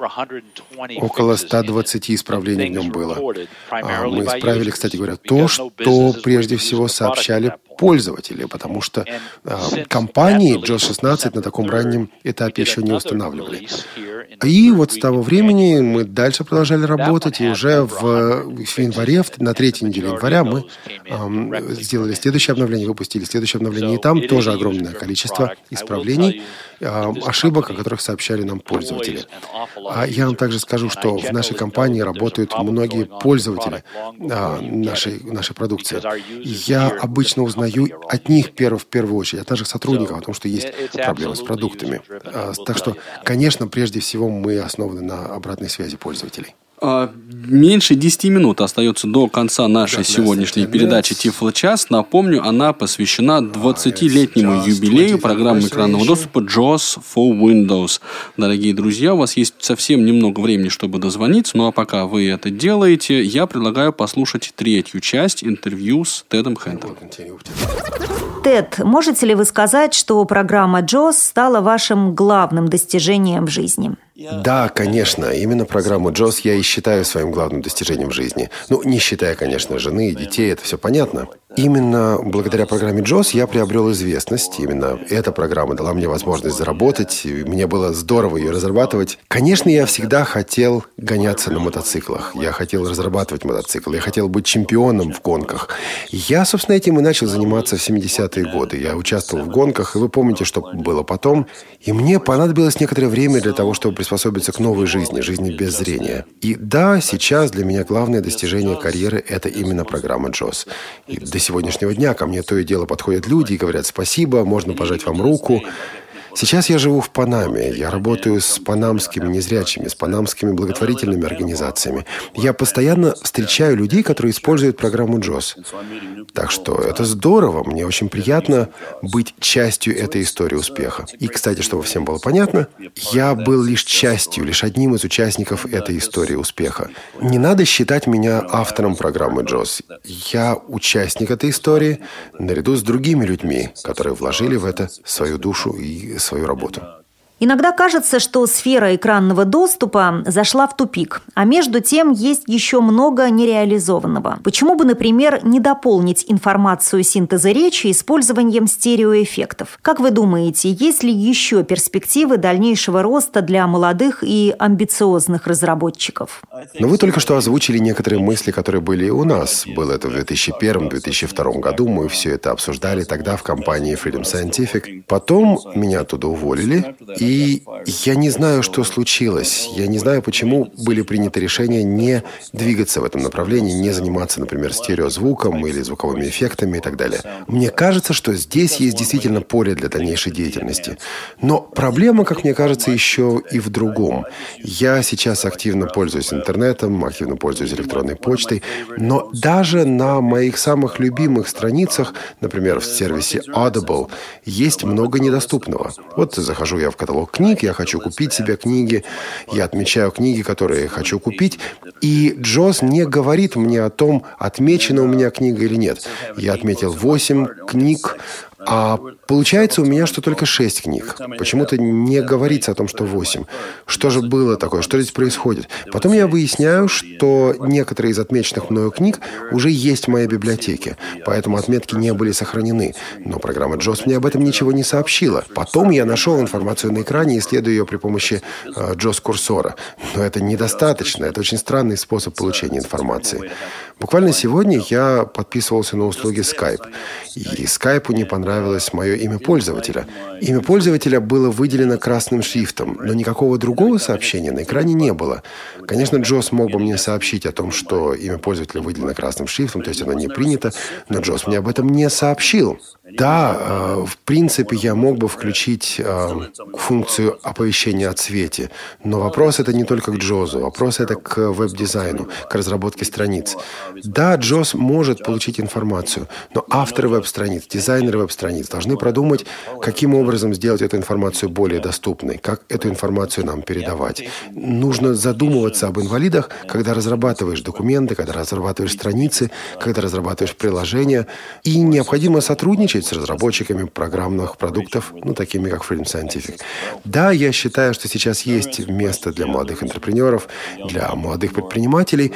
Около ста двадцати исправлений в нем было. Мы исправили, кстати говоря, то, что прежде всего сообщали пользователи, потому что э, компании джоз шестнадцать на таком раннем этапе еще не устанавливали. И вот с того времени мы дальше продолжали работать, и уже в, в январе, на третьей неделе января мы э, сделали следующее обновление, выпустили следующее обновление, и там тоже огромное количество исправлений, э, ошибок, о которых сообщали нам пользователи. А я вам также скажу, что в нашей компании работают многие пользователи а, нашей, нашей продукции. И я обычно узнаю от них перв, в первую очередь, от наших сотрудников, о том, что есть проблемы с продуктами. А, так что, конечно, прежде всего мы основаны на обратной связи пользователей.
Меньше десяти минут остается до конца нашей сегодняшней передачи «Тифлочас». Напомню, она посвящена двадцатилетнему юбилею программы экранного доступа джоз for Windows. Дорогие друзья, у вас есть совсем немного времени, чтобы дозвониться, ну а пока вы это делаете, я предлагаю послушать третью часть интервью с Тедом Хентом.
Тед, можете ли вы сказать, что программа джоз стала вашим главным достижением в жизни?
Да, конечно. Именно программу джоз я и считаю своим главным достижением в жизни. Ну, не считая, конечно, жены и детей, это все понятно. Именно благодаря программе джоз я приобрел известность. Именно эта программа дала мне возможность заработать. И мне было здорово ее разрабатывать. Конечно, я всегда хотел гоняться на мотоциклах. Я хотел разрабатывать мотоцикл. Я хотел быть чемпионом в гонках. Я, собственно, этим и начал заниматься в семидесятые годы. Я участвовал в гонках, и вы помните, что было потом. И мне понадобилось некоторое время для того, чтобы приспособиться к новой жизни, жизни без зрения. И да, сейчас для меня главное достижение карьеры – это именно программа джоз. И до сегодняшнего дня ко мне то и дело подходят люди и говорят: спасибо, можно пожать вам руку. Сейчас я живу в Панаме. Я работаю с панамскими незрячими, с панамскими благотворительными организациями. Я постоянно встречаю людей, которые используют программу джоз. Так что это здорово. Мне очень приятно быть частью этой истории успеха. И, кстати, чтобы всем было понятно, я был лишь частью, лишь одним из участников этой истории успеха. Не надо считать меня автором программы джоз. Я участник этой истории наряду с другими людьми, которые вложили в это свою душу и свою работу.
Иногда кажется, что сфера экранного доступа зашла в тупик, а между тем есть еще много нереализованного. Почему бы, например, не дополнить информацию синтеза речи использованием стереоэффектов? Как вы думаете, есть ли еще перспективы дальнейшего роста для молодых и амбициозных разработчиков?
Но вы только что озвучили некоторые мысли, которые были и у нас. Было это в две тысячи первом - две тысячи втором году. Мы все это обсуждали тогда в компании Freedom Scientific. Потом меня оттуда уволили, и И я не знаю, что случилось. Я не знаю, почему были приняты решения не двигаться в этом направлении, не заниматься, например, стереозвуком или звуковыми эффектами и так далее. Мне кажется, что здесь есть действительно поле для дальнейшей деятельности. Но проблема, как мне кажется, еще и в другом. Я сейчас активно пользуюсь интернетом, активно пользуюсь электронной почтой, но даже на моих самых любимых страницах, например, в сервисе Audible, есть много недоступного. Вот захожу я в каталог книг, я хочу купить себе книги, я отмечаю книги, которые хочу купить, и джоз не говорит мне о том, отмечена у меня книга или нет. Я отметил восемь книг, а получается у меня, что только шесть книг. Почему-то не говорится о том, что восемь. Что же было такое? Что здесь происходит? Потом я выясняю, что некоторые из отмеченных мною книг уже есть в моей библиотеке, поэтому отметки не были сохранены. Но программа джоз мне об этом ничего не сообщила. Потом я нашел информацию на экране, исследуя ее при помощи э, джоз-курсора. Но это недостаточно. Это очень странный способ получения информации. Буквально сегодня я подписывался на услуги Skype. И Skype не понравилось понравилось мое имя пользователя. Имя пользователя было выделено красным шрифтом, но никакого другого сообщения на экране не было. Конечно, Джос мог бы мне сообщить о том, что имя пользователя выделено красным шрифтом, то есть оно не принято, но Джос мне об этом не сообщил. Да, э, в принципе, я мог бы включить э, функцию оповещения о цвете, но вопрос это не только к Джозу, вопрос это к веб-дизайну, к разработке страниц. Да, Джоз может получить информацию, но авторы веб-страниц, дизайнеры веб-страниц должны продумать, каким образом сделать эту информацию более доступной, как эту информацию нам передавать. Нужно задумываться об инвалидах, когда разрабатываешь документы, когда разрабатываешь страницы, когда разрабатываешь приложения, и необходимо сотрудничать с разработчиками программных продуктов, ну, такими как Freedom Scientific. Да, я считаю, что сейчас есть место для молодых интерпренеров, для молодых предпринимателей,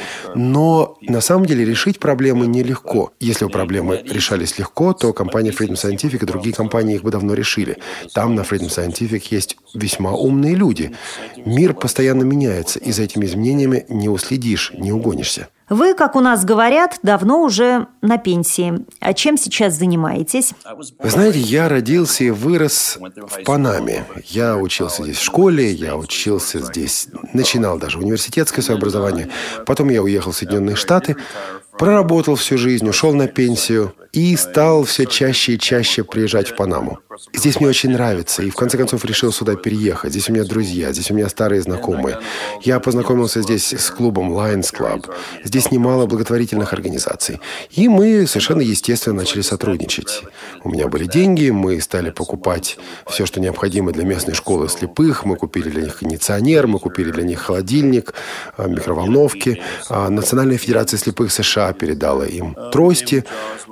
но на самом деле решить проблемы нелегко. Если бы проблемы решались легко, то компания Freedom Scientific и другие компании их бы давно решили. Там на Freedom Scientific есть весьма умные люди. Мир постоянно меняется, и за этими изменениями не уследишь, не угонишься.
Вы, как у нас говорят, давно уже на пенсии. А чем сейчас занимаетесь?
Вы знаете, я родился и вырос в Панаме. Я учился здесь в школе, я учился здесь, начинал даже университетское свое образование. Потом я уехал в Соединенные Штаты, проработал всю жизнь, ушел на пенсию и стал все чаще и чаще приезжать в Панаму. Здесь мне очень нравится, и в конце концов решил сюда переехать. Здесь у меня друзья, здесь у меня старые знакомые. Я познакомился здесь с клубом Lions Club. Здесь немало благотворительных организаций. И мы совершенно естественно начали сотрудничать. У меня были деньги, мы стали покупать все, что необходимо для местной школы слепых. Мы купили для них кондиционер, мы купили для них холодильник, микроволновки. Национальная федерация слепых США передала им трости.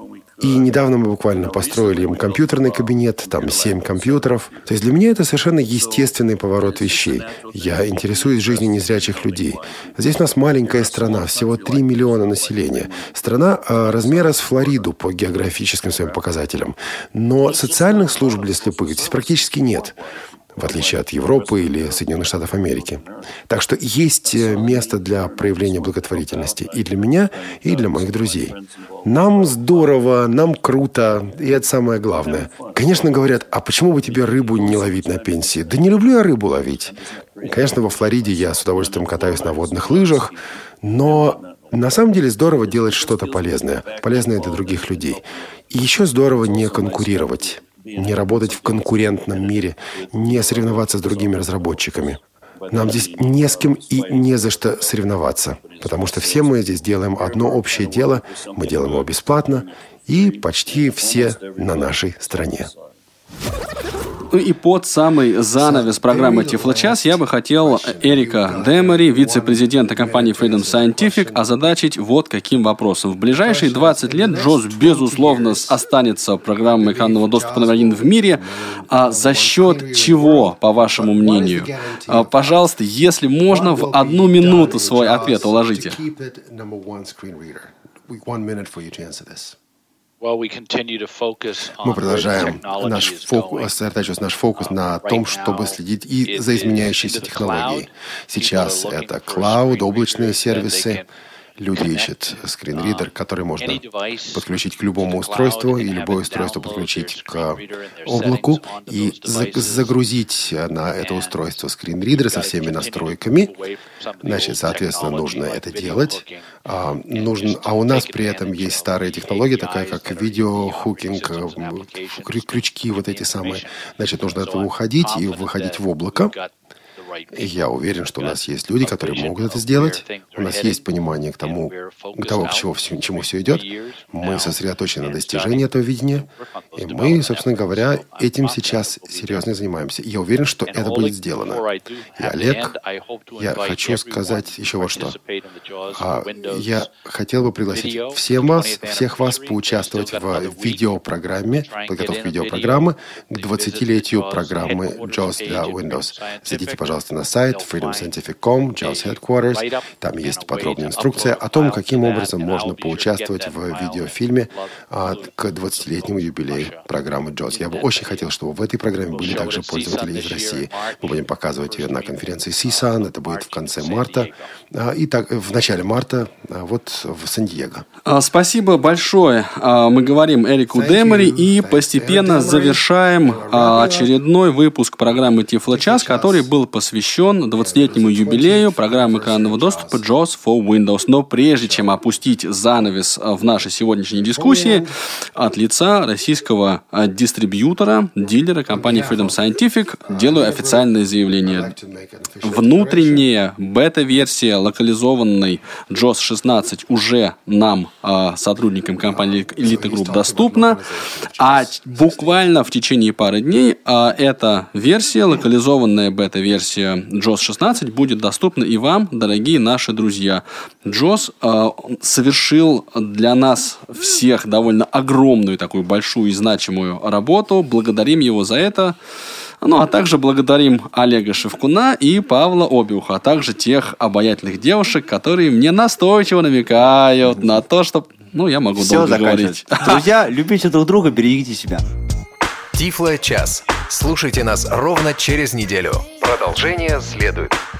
И недавно мы буквально построили им компьютерный кабинет, там семь компьютеров. То есть для меня это совершенно естественный поворот вещей. Я интересуюсь жизнью незрячих людей. Здесь у нас маленькая страна, всего три миллиона населения. Страна а, размера с Флориду по географическим своим показателям. Но социальных служб для слепых здесь практически нет, в отличие от Европы или Соединенных Штатов Америки. Так что есть место для проявления благотворительности и для меня, и для моих друзей. Нам здорово, нам круто, и это самое главное. Конечно, говорят, а почему бы тебе рыбу не ловить на пенсии? Да не люблю я рыбу ловить. Конечно, во Флориде я с удовольствием катаюсь на водных лыжах, но на самом деле здорово делать что-то полезное, полезное для других людей. И еще здорово не конкурировать. Не работать в конкурентном мире, не соревноваться с другими разработчиками. Нам здесь не с кем и не за что соревноваться, потому что все мы здесь делаем одно общее дело, мы делаем его бесплатно, и почти все на нашей стороне.
Ну и под самый занавес программы «Тифлочас» я бы хотел Эрика Демери, вице-президента компании Freedom Scientific, озадачить вот каким вопросом. В ближайшие двадцать лет Джоз, безусловно, останется программой экранного доступа номер один в мире. А за счет чего, по вашему мнению? А, пожалуйста, если можно, в одну минуту свой ответ уложите.
Мы продолжаем наш фокус, сосредотачивать наш фокус на том, чтобы следить и за изменяющейся технологией. Сейчас это клауд, облачные сервисы. Люди ищут скринридер, который можно подключить к любому устройству, и любое устройство подключить к облаку и загрузить на это устройство скринридер со всеми настройками. Значит, соответственно, нужно это делать. А, нужен, а у нас при этом есть старая технология, такая как видеохукинг, крючки вот эти самые. Значит, нужно от этого уходить и выходить в облако. И я уверен, что у нас есть люди, которые могут это сделать. У нас есть понимание к тому, к тому, к чему, к чему все идет. Мы сосредоточены на достижении этого видения. И мы, собственно говоря, этим сейчас серьезно занимаемся. И я уверен, что это будет сделано. И, Олег, я хочу сказать еще вот что. А, я хотел бы пригласить всем вас, всех вас поучаствовать в видеопрограмме, подготовке видеопрограммы к двадцатилетию программы Джоз для Windows. Зайдите, пожалуйста, пожалуйста, на сайт freedom scientific точка com, джоус Headquarters. Там есть подробная инструкция о том, каким образом можно поучаствовать в видеофильме к двадцатилетнему юбилею программы джоус. Я бы очень хотел, чтобы в этой программе были также пользователи из России. Мы будем показывать ее на конференции Си-Сан. Это будет в конце марта. И так, в начале марта вот в Сан-Диего.
Спасибо большое. Мы говорим Эрику Демари и постепенно завершаем очередной выпуск программы Тифло-час, который был посвящен двадцатилетнему юбилею программы экранного доступа джоус for Windows. Но прежде чем опустить занавес в нашей сегодняшней дискуссии, от лица российского дистрибьютора, дилера компании Freedom Scientific делаю официальное заявление. Внутренняя бета-версия локализованной джоус шестнадцать уже нам, сотрудникам компании Elite Group, доступна, а буквально в течение пары дней эта версия, локализованная бета-версия джоус шестнадцать, будет доступна и вам, дорогие наши друзья. джоус совершил для нас всех довольно огромную, такую большую и значимую работу. Благодарим его за это. Ну, а также благодарим Олега Шевкуна и Павла Обиуха, а также тех обаятельных девушек, которые мне настойчиво намекают на то, что... Ну, я могу
Все
долго говорить.
Друзья, любите друг друга, берегите себя.
Тифло-час. Слушайте нас ровно через неделю. Продолжение следует.